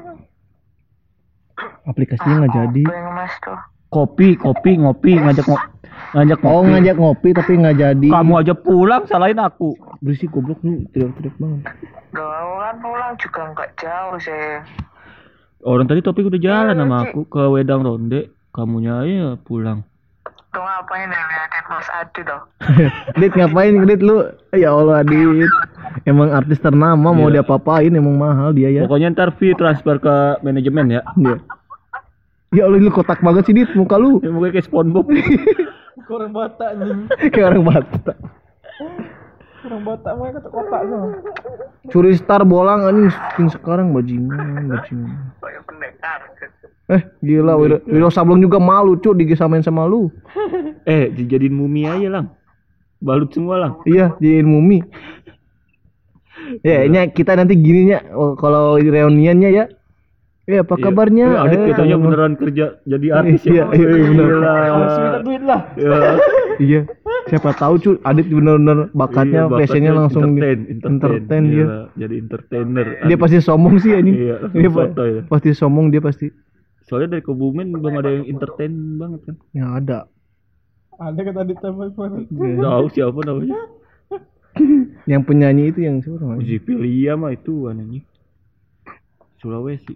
Aplikasinya nggak jadi. Apa yang mas tuh? Kopi, kopi, ngopi, ngajak ngo ngajak ngopi. Oh ngajak ngopi tapi nggak jadi. Kamu aja pulang salahin aku. Berisik goblok lu, teriak-teriak banget. Doang kan pulang juga nggak jauh sih. Orang tadi Topik udah jalan sama aku ke Wedang Ronde. Kamunya aja pulang. Tuh ngapain ya liatin Mas Adi dong? Dit ngapain Dit lu? Ya Allah Dit. Emang artis ternama mau Iya. diapa-apain emang mahal dia ya. Pokoknya ntar fee transfer ke manajemen ya. Dia. Ya Allah lu kotak banget sih Dit muka lu. Ya mungkin kayak SpongeBob. Orang Batak nih. Kayak orang Batak. Orang Batak mah kata kotak sama. Curi Star bolang anjing syuting sekarang bajingan, bajingan. Kayak pendekar. Eh gila Wiro, Wiro Sableng juga malu cu digesamain sama lu. Eh, dijadiin mumi aja lang. Balut semua lang. Iya, jadiin mumi. Ya, nya kita nanti gininya oh, kalau reuniannya ya. Eh apa kabarnya? Ya, Adit Eh, katanya kalau- beneran kerja jadi artis Iya, ya. iya, iya, bener. Gila. Harus minta duit lah. Ya. Iya. Siapa tahu cu Adit bener-bener bakatnya Iya, passionnya bakatnya langsung di- entertain, entertain dia. Gila, jadi entertainer. Dia pasti sombong sih ini. Iya, langsung Dia pa- soto ya. pasti sombong dia pasti. Soalnya dari Kebumen belum ada yang entertain banget kan. Ya ada. Ada kata di tempat mana? Tahu siapa namanya? Yang penyanyi itu yang siapa namanya? Uji Pilia mah itu anjing. Sulawesi.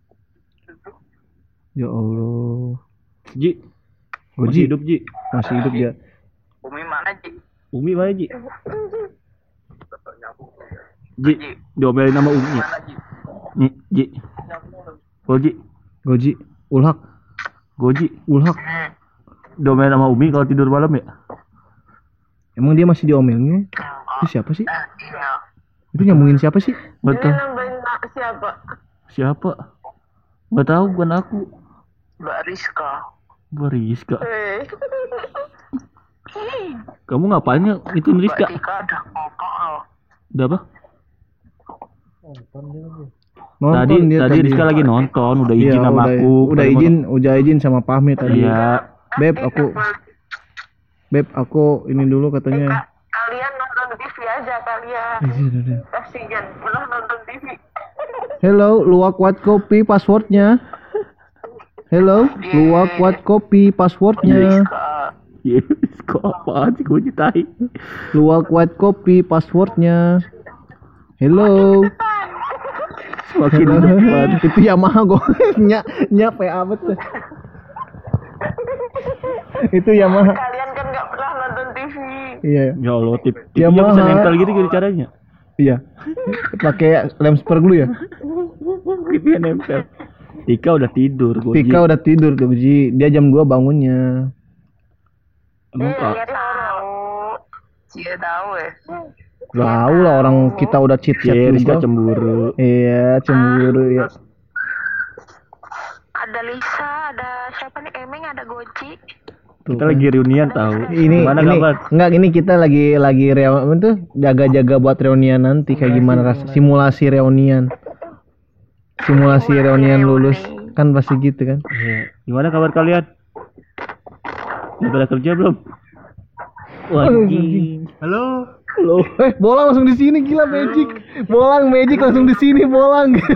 Ya Allah. Ji. Goji. Masih hidup Ji. Masih hidup dia. Umi mana Ji? Umi mana Ji? Ji, diomelin sama Umi. Mana Ji? Nih, Ji. Goji, Goji, Ulhak, Goji. Ulhak. Diomelin sama Umi kalau tidur malam ya? Emang dia masih diomelnya? Itu siapa sih? Iya. Itu nyambungin siapa sih? Betul. Nambahin siapa? Siapa? Gak tahu, bukan aku. Mbak Rizka. Bariska. Eh. Kamu ngapain ya? Itu Mbak Rizka. Tika ada kokol. Udah apa? Nonton dia lagi. Nonton tadi, dia tadi Rizka lagi nonton, udah Iya, izin sama udah, aku. Udah Kalau izin, udah izin sama Pahmi mau- tadi. Iya. Beb, aku Beb, aku ini dulu katanya. Kalian nonton T V aja kalian. Iya, udah, udah. Kasihan, belum nonton T V. Hello, luwak white kopi passwordnya. Hello, luwak white kopi passwordnya. Iya, kok apaan sih gue citai? Luwak white kopi passwordnya. Hello. Semakin depan. Itu Yamaha gue nyak nyak P A betul. Itu Yamaha. Kalian kan nggak pernah nonton T V. Iya, Ya Allah, tip Ya, tipnya bisa mahal. nempel gitu gitu caranya. iya. Pakai lem super glue ya. Tipnya nempel. Tika udah tidur, Goji. Tika udah tidur tuh, Ji. Dia jam dua bangunnya. Emang Kak? Dia tahu. Dia tahu ya. Tahu lah orang kita udah cheat chat Cie, Rizka juga. cemburu. Iya, cemburu ya. Ada Lisa, ada siapa nih? Emeng, ada Goji. Tuh, Kita lagi reunian tahu. ini Gimana ini kabar? enggak ini kita lagi lagi reunian tuh jaga-jaga buat reunian nanti kayak gimana ras simulasi reunian. Simulasi reunian lulus kan pasti gitu kan. Iya. Gimana kabar kalian? Udah pada kerja belum? Wajib. Halo. Loh, eh bolang langsung di sini gila magic. Bolang magic langsung di sini bolang. Itu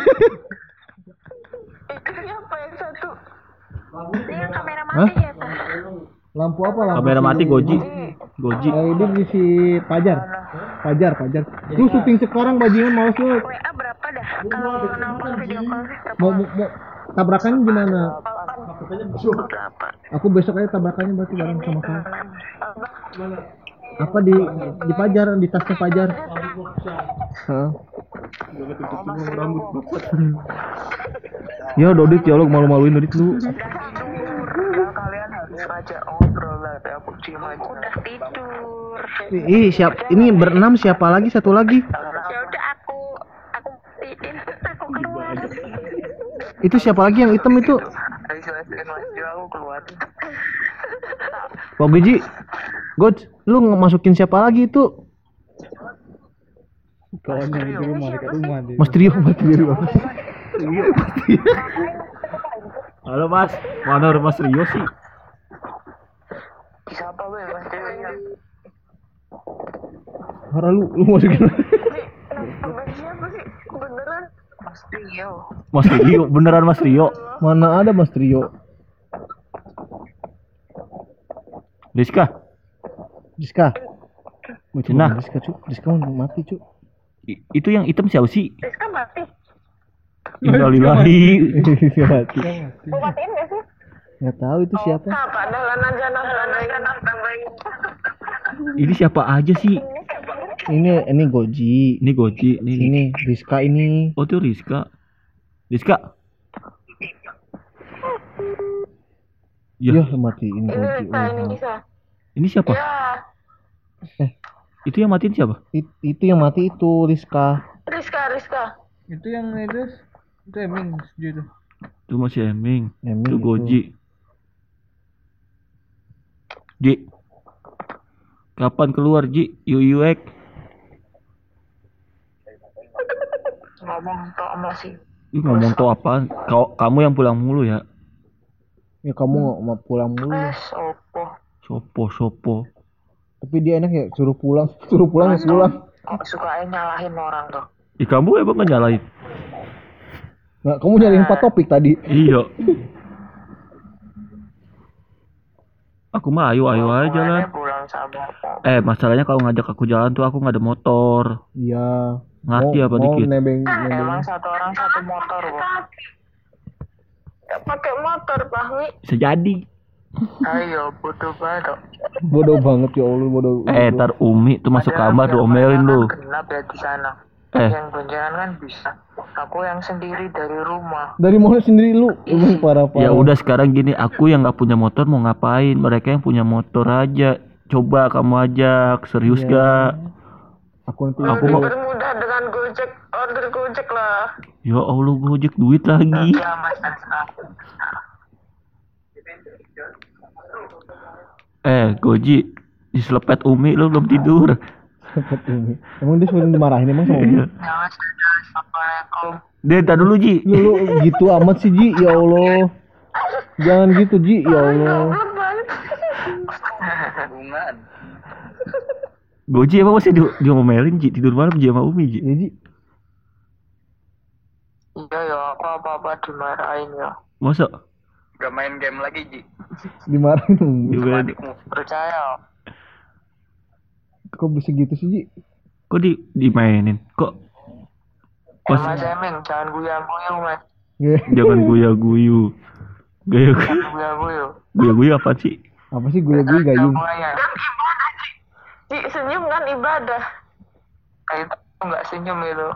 siapa yang satu? Ini yang kamera Hah? mati ya, Tah? Lampu apa lampu? Kamera mati Goji. Goji. Eh, ini di si Pajar. Pajar, Pajar. Lu syuting sekarang bajingan males lu. W A berapa dah? Kalau nonton video call Mau, mau, mau tabrakannya gimana? berapa? Aku besok aja tabrakannya berarti bareng sama kamu. Apa di di Pajar, di tasnya Pajar. Heeh. Ya Dodit ya lo malu-maluin Dodit lu. Kalian harus ngajak ngobrol lah, ya aku diem aja. Udah tidur. Ih, siap ini berenam siapa lagi satu lagi? Ya udah aku aku matiin, aku keluar. Itu siapa lagi yang hitam itu? Ayo selesaiin mas Jo, aku keluar. Wah Biji. God, lu masukin siapa lagi itu? Kawannya di rumah dekat rumah dia. Mas Trio, Mas Trio. Halo Mas, mana Mas Rio sih? Siapa gue mas Jo? Hara lu lu masukin. Kenapa siapa sih? Beneran? Mas Rio. Mas Rio, beneran Mas Rio. Mana ada Mas Trio? Rizka, Diska. Gua Cina. coba Diska, Cuk. Diska mau mati, Cuk. i- itu yang hitam siapa sih? Rizka mati. Innalillahi. mati. Mau matiin gak sih? Enggak tahu itu siapa. Nah, padahal aja nambahin. Ini siapa aja sih? Ini ini Goji. Ini Goji, ini. Ini Rizka ini. Oh tuh Rizka. Rizka. Ya, Ya, matiin Ini Goji. Rizka, ini Oh. bisa. ini siapa? Ya, Itu yang matiin siapa? It- itu yang mati itu Rizka. Rizka, Rizka. Itu yang itu itu Eming setuju tuh. Itu masih Eming. Eming Itu itu. Goji. Ji. Kapan keluar Ji? U U X. Ngomong tok masih. Ih, ngomong tuh apaan? Kau, kamu yang pulang mulu ya? Ya kamu nggak mau pulang dulu. Eh, sopo. Sopo, sopo. Tapi dia enak ya suruh pulang, suruh pulang ya pulang. Kok suka nyalahin orang tuh. Ih, kamu emang nggak nyalain? Nggak, kamu nyari empat topik tadi. Iya. Aku mah ayo ayo aja lah. Kemarin pulang sama apa? Eh, masalahnya kalau ngajak aku jalan tuh aku nggak ada motor. Iya. Ngerti Mau- apa mau dikit? nebeng, nebeng. Emang satu orang satu motor kok. Gak pakai motor, Fahmi. Bisa jadi. Ayo, bodoh banget. Bodoh banget ya Allah, bodoh. Eh, tar Umi tuh masuk kamar tuh omelin lu. Kenapa ya di sana? Eh. Yang boncengan kan bisa. Aku yang sendiri dari rumah. Dari mana sendiri lu? Emang parah-parah. Ya udah sekarang gini, aku yang nggak punya motor mau ngapain? Mereka yang punya motor aja. Coba kamu ajak, serius Iya. gak? Aku nanti Aku aku mau- Bermudah dengan Gojek, order Gojek lah. Ya Allah, Gojek duit lagi. Ya mas. Eh, Goji, diselepet Umi lu belum tidur. cepet Umi. Emang dia sudah dimarahin emang sama Umi? Iya. Ya mas. Assalamualaikum. Dia entar dulu Ji. Lu, lu gitu amat sih Ji, ya Allah. Jangan gitu Ji, ya Allah. Hubungan. Goji emang masih di diomelin Ji, tidur malam Ji sama Umi Ji. Ya Ji, Iya ya, aku apa-apa dimarahin ya. Masa? Gak main game lagi, Ji. dimarahin Umi. Juga Adikmu. Percaya. Kok bisa gitu sih Ji? kok di dimainin? Kok Ya, pas mas Eming, jangan guyang-guyang, mas. Ya, jangan guya-guyu. Gaya Jangan guyang-guyang. guya-guyu apa sih? apa sih gue gue gayung? Jangan Ji, senyum kan ibadah. Kayak itu nggak senyum itu.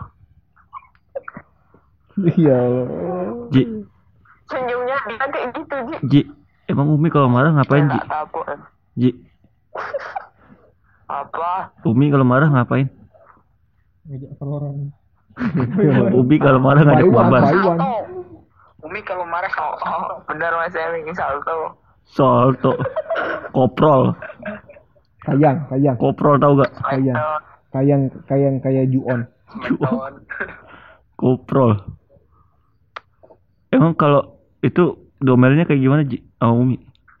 Ya Allah. Ji, Senyumnya dia kayak gitu, Ji. Ji, emang Umi kalau marah ngapain Ji? Nggak kapok, em. Ji, Apa? Umi kalau marah ngapain? Ngajak orang. Umi kalau marah ngajak Taiwan, mabar. Taiwan. Umi kalau marah, oh, oh, benar mas Eming, salto. Salto. Koprol. Kayang, kayang, Koprol tahu gak? kayang, kayang, kayang kayak Juon. Smackdown. Koprol. Emang kalau itu domelnya kayak gimana, Ji? Oh, Umi.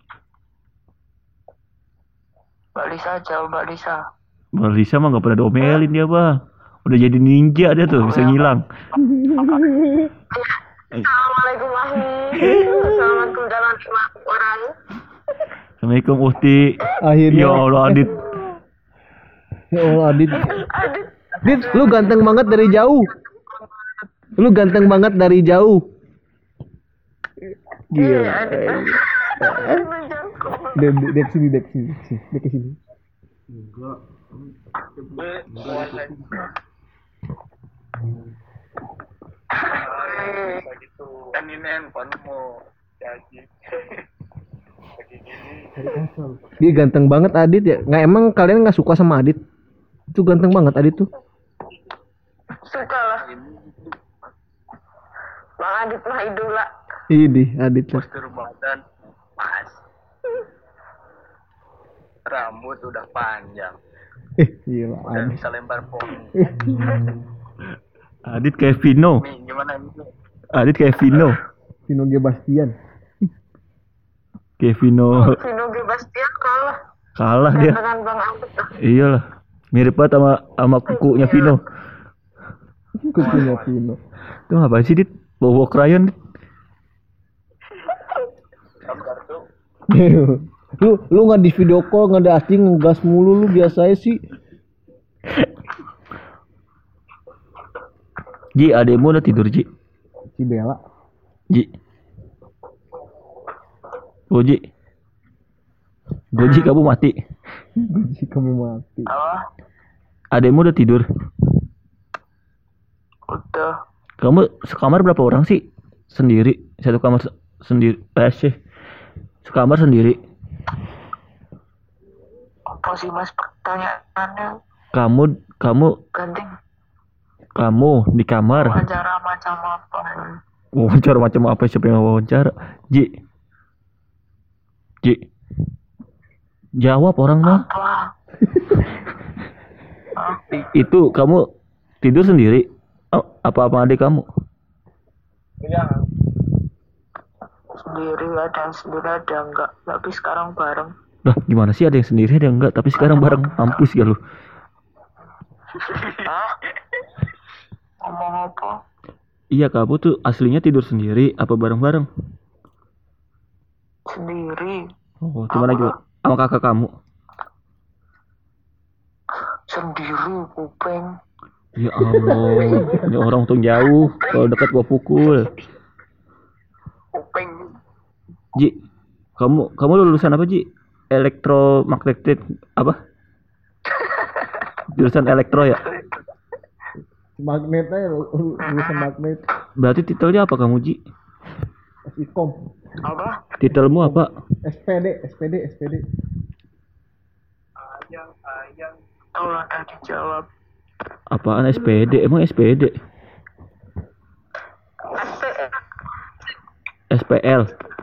Mbak Lisa aja, Mbak Lisa. Bang Lisa mah gak pernah domelin dia, Bang. Udah jadi ninja dia tuh, bisa ngilang. Assalamualaikum warahmatullahi Assalamualaikum jalan lima orang. Assalamualaikum Uhti. Akhirnya. Ya Allah, Adit. Ya Allah, Adit. Aduh, Dit, lu ganteng banget dari jauh. Lu ganteng banget dari jauh. Gila. Dek, dek, dek sini, dek sini, sini, dek ke sini. Kan ini handphonemu. Jadi. Dia ganteng banget Adit ya. Nggak emang kalian nggak suka sama Adit? Itu ganteng banget Adit tuh. suka lah. Bang Adit mah idola. Ini Adit lah. Postur badan pas. Rambut udah panjang. Eh, gila Udah Adit. bisa lempar pohon. Adit kayak Vino. Nih, gimana ini? Adit kayak Vino. Vino G. Bastian. Kayak Vino. Vino G. Bastian kalah. Kalah dia. Dengan Bang Adit lah. Iyalah. Mirip banget sama sama kukunya Vino. Kukunya Vino. Itu ngapain sih, Dit? Bawa krayon, Dit? lu lu nggak di video call, nggak ada asing, ngegas mulu lu biasa sih. Ji, adekmu udah tidur, Ji. Si Bella. Ji. Goji. Goji, kamu mati. Gaji kamu mati. Apa? Adekmu udah tidur. Udah. Kamu sekamar berapa orang sih? Sendiri. Satu kamar se- sendiri. Eh, sih. Sekamar sendiri. Apa sih mas pertanyaannya? Kamu kamu Ganti kamu di kamar. wawancara macam apa? Wawancara macam apa, siapa yang wawancara? Ji. Ji. Jawab orang mah. Apa? I- Itu kamu tidur sendiri? Oh, apa apa adik kamu? Sendiri ada yang sendiri ada yang enggak. Tapi sekarang bareng. Lah, gimana sih, ada yang sendiri ada yang enggak, tapi sekarang bareng. Mampus gak lu? Hah? Ngomong apa? Iya, kamu tuh aslinya tidur sendiri apa bareng-bareng? Sendiri. Oh, gimana juga? Sama kakak kamu? Sendiri kuping. Ya Allah, ini orang untung jauh. Kalau dekat gua pukul. Kuping. Ji, kamu kamu lulusan apa, Ji? Elektromagnetik apa? Jurusan elektro ya? Magnetnya lulusan magnet. Berarti titelnya apa kamu, Ji? Ikom. Apa? Titelmu apa? S P D, S P D, S P D. Ayang, ayang. Tolong tadi jawab. Apaan S P D? Emang S P D? S P L.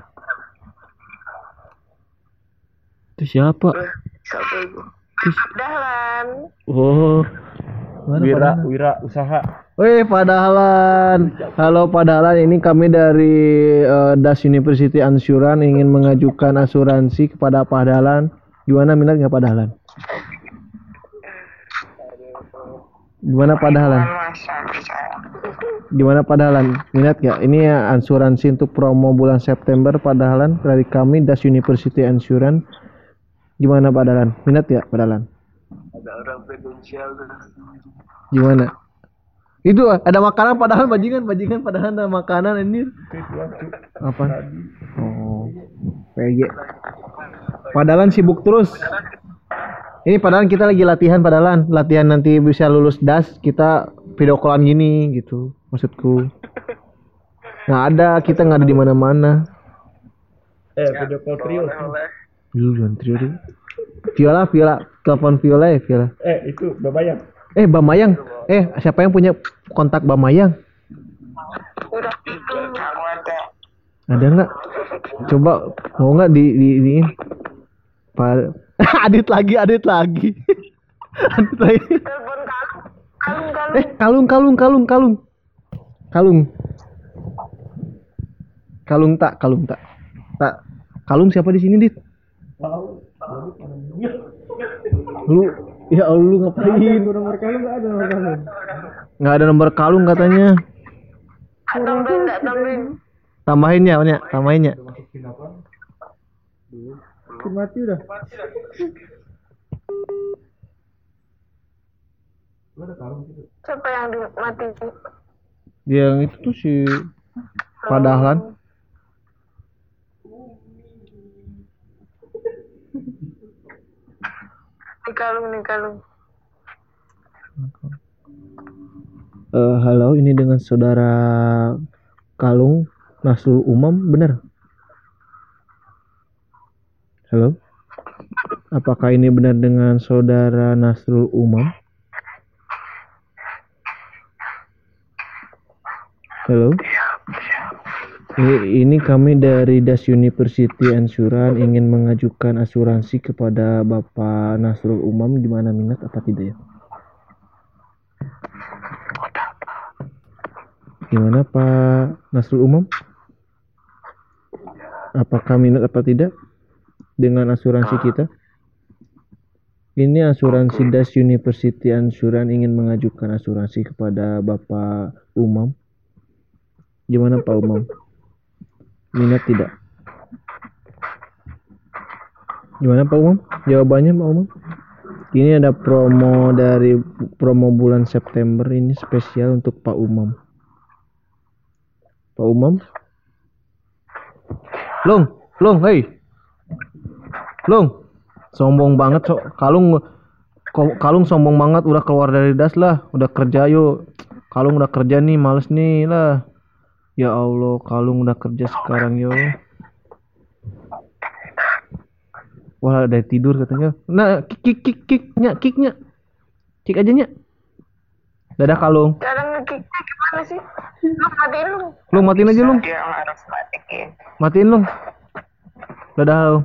Itu siapa? Eh, siapa itu? Dahlan. Oh, Mana Wira, Padahlan? Wira usaha. Wih, Padahlan. Halo Padahlan, ini kami dari eh, Das University Ansuran ingin mengajukan asuransi kepada Padahlan. Gimana, minat nggak Padahlan? Gimana Padahlan? Gimana Padahlan? Minat nggak? Ini ya asuransi untuk promo bulan September Padahlan dari kami Das University Ansuran. Gimana Padahlan? Minat nggak Padahlan? Ada orang kredensial tuh. Gimana? Itu ada makanan Padahlan, bajingan, bajingan Padahlan ada makanan ini. Apa? Oh, P G. Padahlan sibuk terus. Ini padahal kita lagi latihan Padahlan, latihan nanti bisa lulus das, kita video callan gini gitu, maksudku. Nggak ada, kita nggak ada di mana-mana. Eh, video call trio. Dulu jangan trio dulu. Viola, Viola, telepon Viola ya Viola. Eh, itu Babayang. Eh, Bamayang. Eh, siapa yang punya kontak Bamayang? Udah itu. Aku ada. Ada nggak? Coba mau nggak di di, di Pa- Adit lagi, Adit lagi. Adit lagi. Telepon kalung. Kalung, kalung. Eh, kalung, kalung, kalung, kalung. Kalung. Kalung tak, kalung tak. Tak. Kalung siapa di sini, Dit? Lu, ya Allah, lu ngapain? Nomor kalung nggak ada nomor kalung. Nggak ada nomor kalung katanya. Tambahin, enggak tambahin. Tambahin ya, Nya. Tambahin ya. Mati udah. Siapa yang dimati? Dia yang itu tuh si Padahlan. Nih kalung, nih kalung. Eh, halo, ini dengan saudara Kalung Nasrul Umam, benar? Halo? Apakah ini benar dengan saudara Nasrul Umam? Halo? Ini, ini kami dari Das University Insurance ingin mengajukan asuransi kepada Bapak Nasrul Umam, gimana, minat apa tidak ya? Gimana Pak Nasrul Umam? Apakah minat apa tidak dengan asuransi kita? Ini asuransi Das University Insurance ingin mengajukan asuransi kepada Bapak Umam. Gimana Pak Umam? Minat tidak? Gimana Pak Umam? Jawabannya Pak Umam? Ini ada promo dari promo bulan September, ini spesial untuk Pak Umam. Pak Umam? Long, Long, hei. Long. Sombong banget, Cok. Kalung ko- Kalung sombong banget udah keluar dari das lah, udah kerja yuk. Kalung udah kerja nih, males nih lah. Ya Allah, Kalung udah kerja sekarang yo. Wah, dari tidur katanya. Nah, kick kick kick kicknya, kicknya. Kick aja nya. Dadah Kalung. Cara nge-kicknya gimana sih? Lu matiin lu. Lu matiin aja lu. Dia harus matiin. Matiin lu. Dadah lu.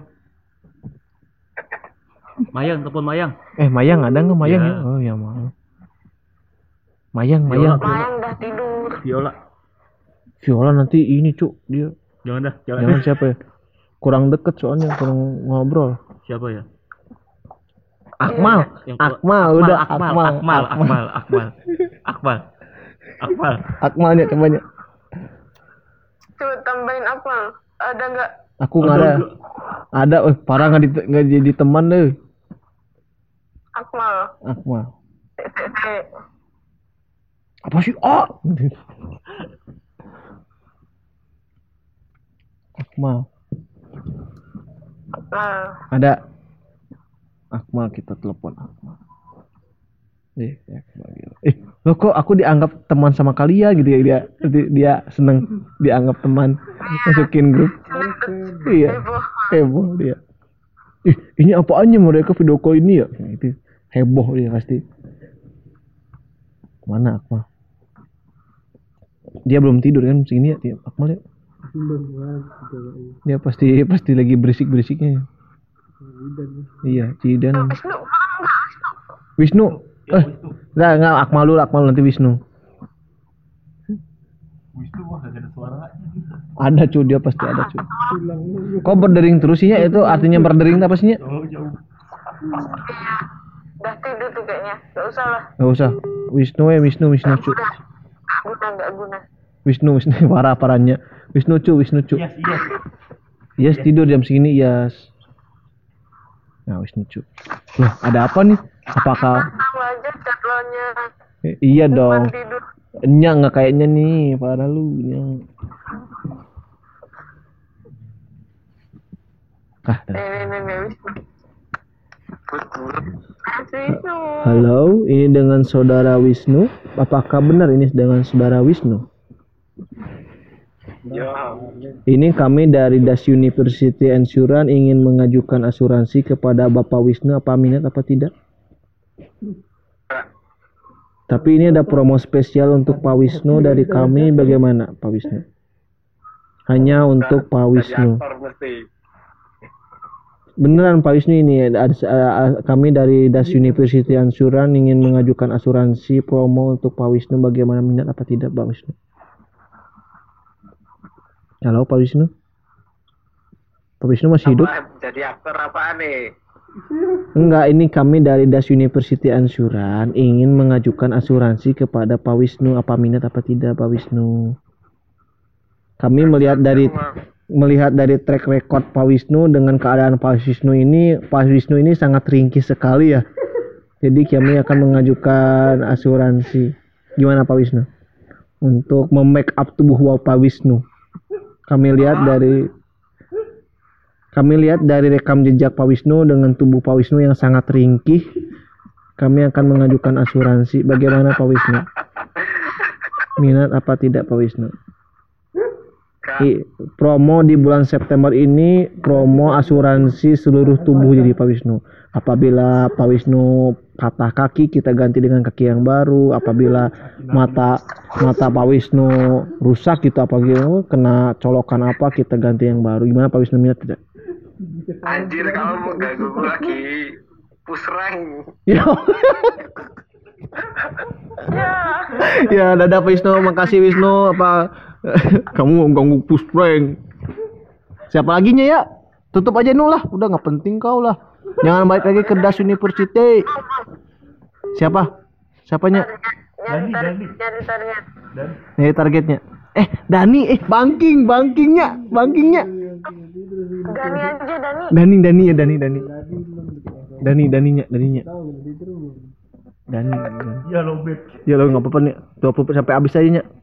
Mayang, telepon Mayang. Eh, Mayang ada nggak Mayang Ya. ya? Oh ya, Mayang. Mayang, Viola, Mayang. Viola. Mayang udah tidur. Viola. Viola nanti ini, Cuk. Dia Jangan dah, jangan. jangan siapa ya? Kurang deket soalnya, kurang ngobrol. Siapa ya? Akmal, Yang tua- Akmal, udah Akmal, Akmal, Akmal, Akmal, Akmal, Akmal, Akmal. Akmalnya coba. Coba tambahin apa? Ada nggak? Aku nggak ada. Ada, eh parah nggak di nggak jadi teman deh. Akmal. Akmal. T T T. Apa sih? Oh. Akmal. Akmal. Ada. Akmal, kita telepon Akmal. Eh, Akmal gitu. Eh, lo kok aku dianggap teman sama kalian gitu ya, dia dia, dia seneng dianggap teman, masukin grup. Iya. Heboh. Heboh dia. Ih, ini apaannya mereka video call ini ya? Nah, itu heboh dia pasti. Mana Akmal? Dia belum tidur kan segini ya, dia Akmal ya? Dia pasti pasti lagi berisik-berisiknya. Iya, Cidan. Wisnu, belum nggak Wisnu? Wisnu. Eh, enggak, enggak Akmal dulu, Akmal nanti Wisnu. Wisnu wah gak ada suaranya. Ada cu, dia pasti ada cu. Kok berdering terus sih ya? Itu artinya berdering apa sih ya? Oh, jauh. Iya. Udah tidur tuh kayaknya. Gak usah lah. Gak usah. Wisnu ya, Wisnu, Wisnu cu. Udah. Nggak guna, nggak guna. Wisnu, Wisnu parah parahnya. Wisnu cu, Wisnu cu. Yes, yes. Yes, tidur jam segini, yes. Nah, Wisnu cu. Loh, ada apa nih? Apakah Tahu aja jadwalnya. eh, iya dong. Bukan tidur. Nya nggak kayaknya nih, parah lu. Nya. Ah, dah. Nih, nih, nih, Wisnu. Mas Wisnu. Halo, ini dengan saudara Wisnu. Apakah benar ini dengan saudara Wisnu? Ini kami dari Das University Insurance ingin mengajukan asuransi kepada Bapak Wisnu. Apa minat apa tidak? Tapi ini ada promo spesial untuk Pak Wisnu dari kami. Bagaimana Pak Wisnu? Hanya untuk Pak Wisnu. Beneran Pak Wisnu ini ada, ada- kami dari Das University Ansuran ingin mengajukan asuransi promo untuk Pak Wisnu, bagaimana, minat apa tidak Pak Wisnu? Halo Pak Wisnu? Pak Wisnu masih hidup? Jadi aktor apaan nih? Enggak, ini kami dari Das University Ansuran ingin mengajukan asuransi kepada Pak Wisnu, apa minat apa tidak Pak Wisnu? Kami melihat dari melihat dari track record Pak Wisnu dengan keadaan Pak Wisnu ini, Pak Wisnu ini sangat ringkih sekali ya. Jadi kami akan mengajukan asuransi. Gimana Pak Wisnu? Untuk mem-make up tubuh Pak Wisnu. Kami lihat dari kami lihat dari rekam jejak Pak Wisnu dengan tubuh Pak Wisnu yang sangat ringkih. Kami akan mengajukan asuransi. Bagaimana Pak Wisnu? Minat apa tidak Pak Wisnu? I, promo di bulan September ini promo asuransi seluruh tubuh jadi Pak Wisnu. Apabila Pak Wisnu patah kaki, kita ganti dengan kaki yang baru. Apabila mata mata Pak Wisnu rusak gitu, apabila kena colokan apa, kita ganti yang baru. Gimana Pak Wisnu, minat tidak? Anjir, kamu mau ganggu gue lagi pusreng. Ya. Ya, dadah Pak Wisnu, makasih Wisnu. Apa kamu ganggu push prank? Siapa lagi nya ya? Tutup aja nu lah, udah nggak penting kau lah. Jangan balik lagi ke Das University. Siapa? Siapanya? Dani, Dani. Jadi target. Nih targetnya. Eh, Dani, eh banking, bankingnya, bankingnya. Dani aja Dani. Dani, Dani ya, Dani, Dani. Dani, Daninya, Daninya. Dani. Dani. Ya lo bet. Ya lo nggak apa-apa nih. dua puluh sampai habis aja nya.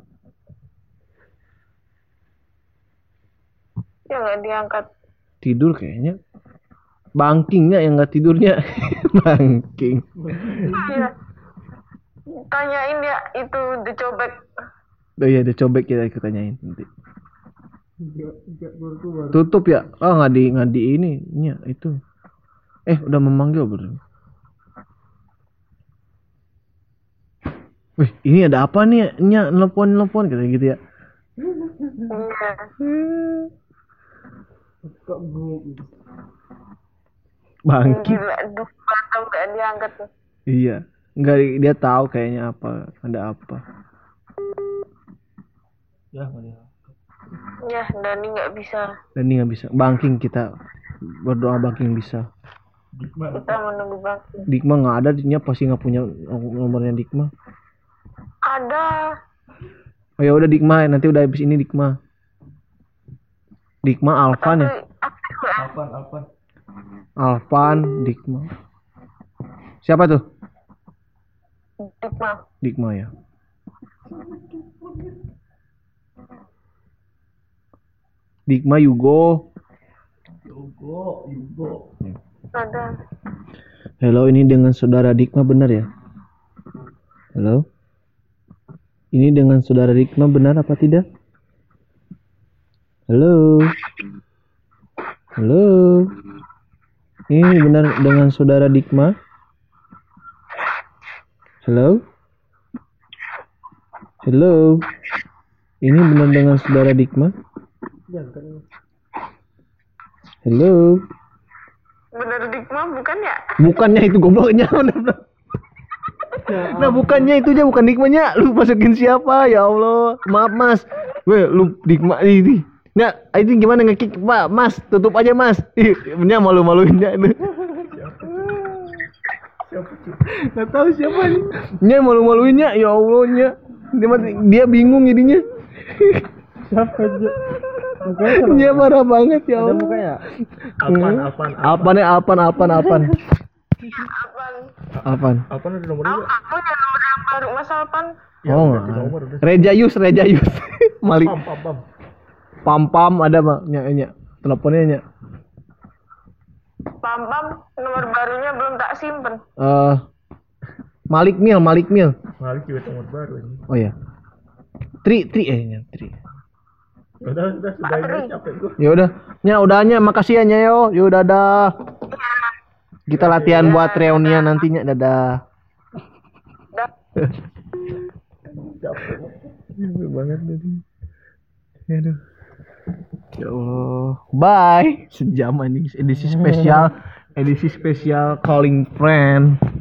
Ya nggak diangkat. Tidur kayaknya. Bankingnya yang nggak tidurnya. Banking. Iya. Tanyain ya itu dicobek. Oh iya, ada cobek kita ikut tanyain nanti. Tutup ya? Oh nggak di nggak di ini nya itu. Eh udah memanggil belum? Wih ini ada apa nih nya nelpon nelpon kayak gitu ya? Iya. Bangki. Gila, duh, mantap nggak diangkat tuh. Iya. Nggak, dia tahu kayaknya apa, ada apa. Ya nggak dia. Ya, Dani nggak bisa. Dan ini nggak bisa. Banking kita berdoa banking bisa. Dikma. Kita menunggu bangkit. Dikma nggak ada, dia pasti nggak punya nomornya Dikma. Ada. Oh ya udah Dikma, nanti udah habis ini Dikma. Dikma Alvan ya? Tapi aktif nggak? Alpan, Alpan. Alvan, Dikma. Siapa tuh? Dikma. Dikma ya. Dikma Yugo. Yugo, Yugo. Ada. Halo, ini dengan saudara Dikma benar ya? Halo? Ini dengan saudara Dikma benar apa tidak? Halo? Halo? Ini benar dengan saudara Dikma? Halo? Halo? Ini benar dengan saudara Dikma? Halo? Bener Dikma bukan ya? Bukannya itu gobloknya. Nah bukannya itu aja, bukan Dikmanya. Lu masukin siapa? Ya Allah. Maaf Mas. Weh lu Dikma ini. Nah itu gimana ngekick Pak? Mas tutup aja Mas. Ih, nya malu-maluinnya itu. Nggak tahu siapa nih. Nya malu-maluinnya. Ya Allah nya. Dia, dia bingung jadinya. Siapa aja? Dia marah banget ya Allah. Mukanya. Alpan, Alpan. Alpan ya Alpan Alpan Alpan. Apaan? Alpan. Alpan ada nomornya Aku, juga. aku yang nomor yang baru Mas Alpan. Ya, Oh udah, nggak. nomor udah. Reja Yus, Reja Yus. Malik. Pam, pam, pam. Pam pam ada mah nya nya. Teleponnya nya. Pam Pam nomor barunya belum tak simpen. Eh Malik Mil, Malik Mil. Malik juga nomor baru ini. Oh ya. Tri Tri eh nya Tri. Udah, udah, sudah ini capek gua. Ya udah. Nya udahnya makasih ya nya yo. Yo dadah. Kita latihan buat reunian nantinya dadah. Dah. Capek. Banget tadi. Aduh. Ya Allah. Bye. Sejam ini edisi spesial, edisi spesial calling friend.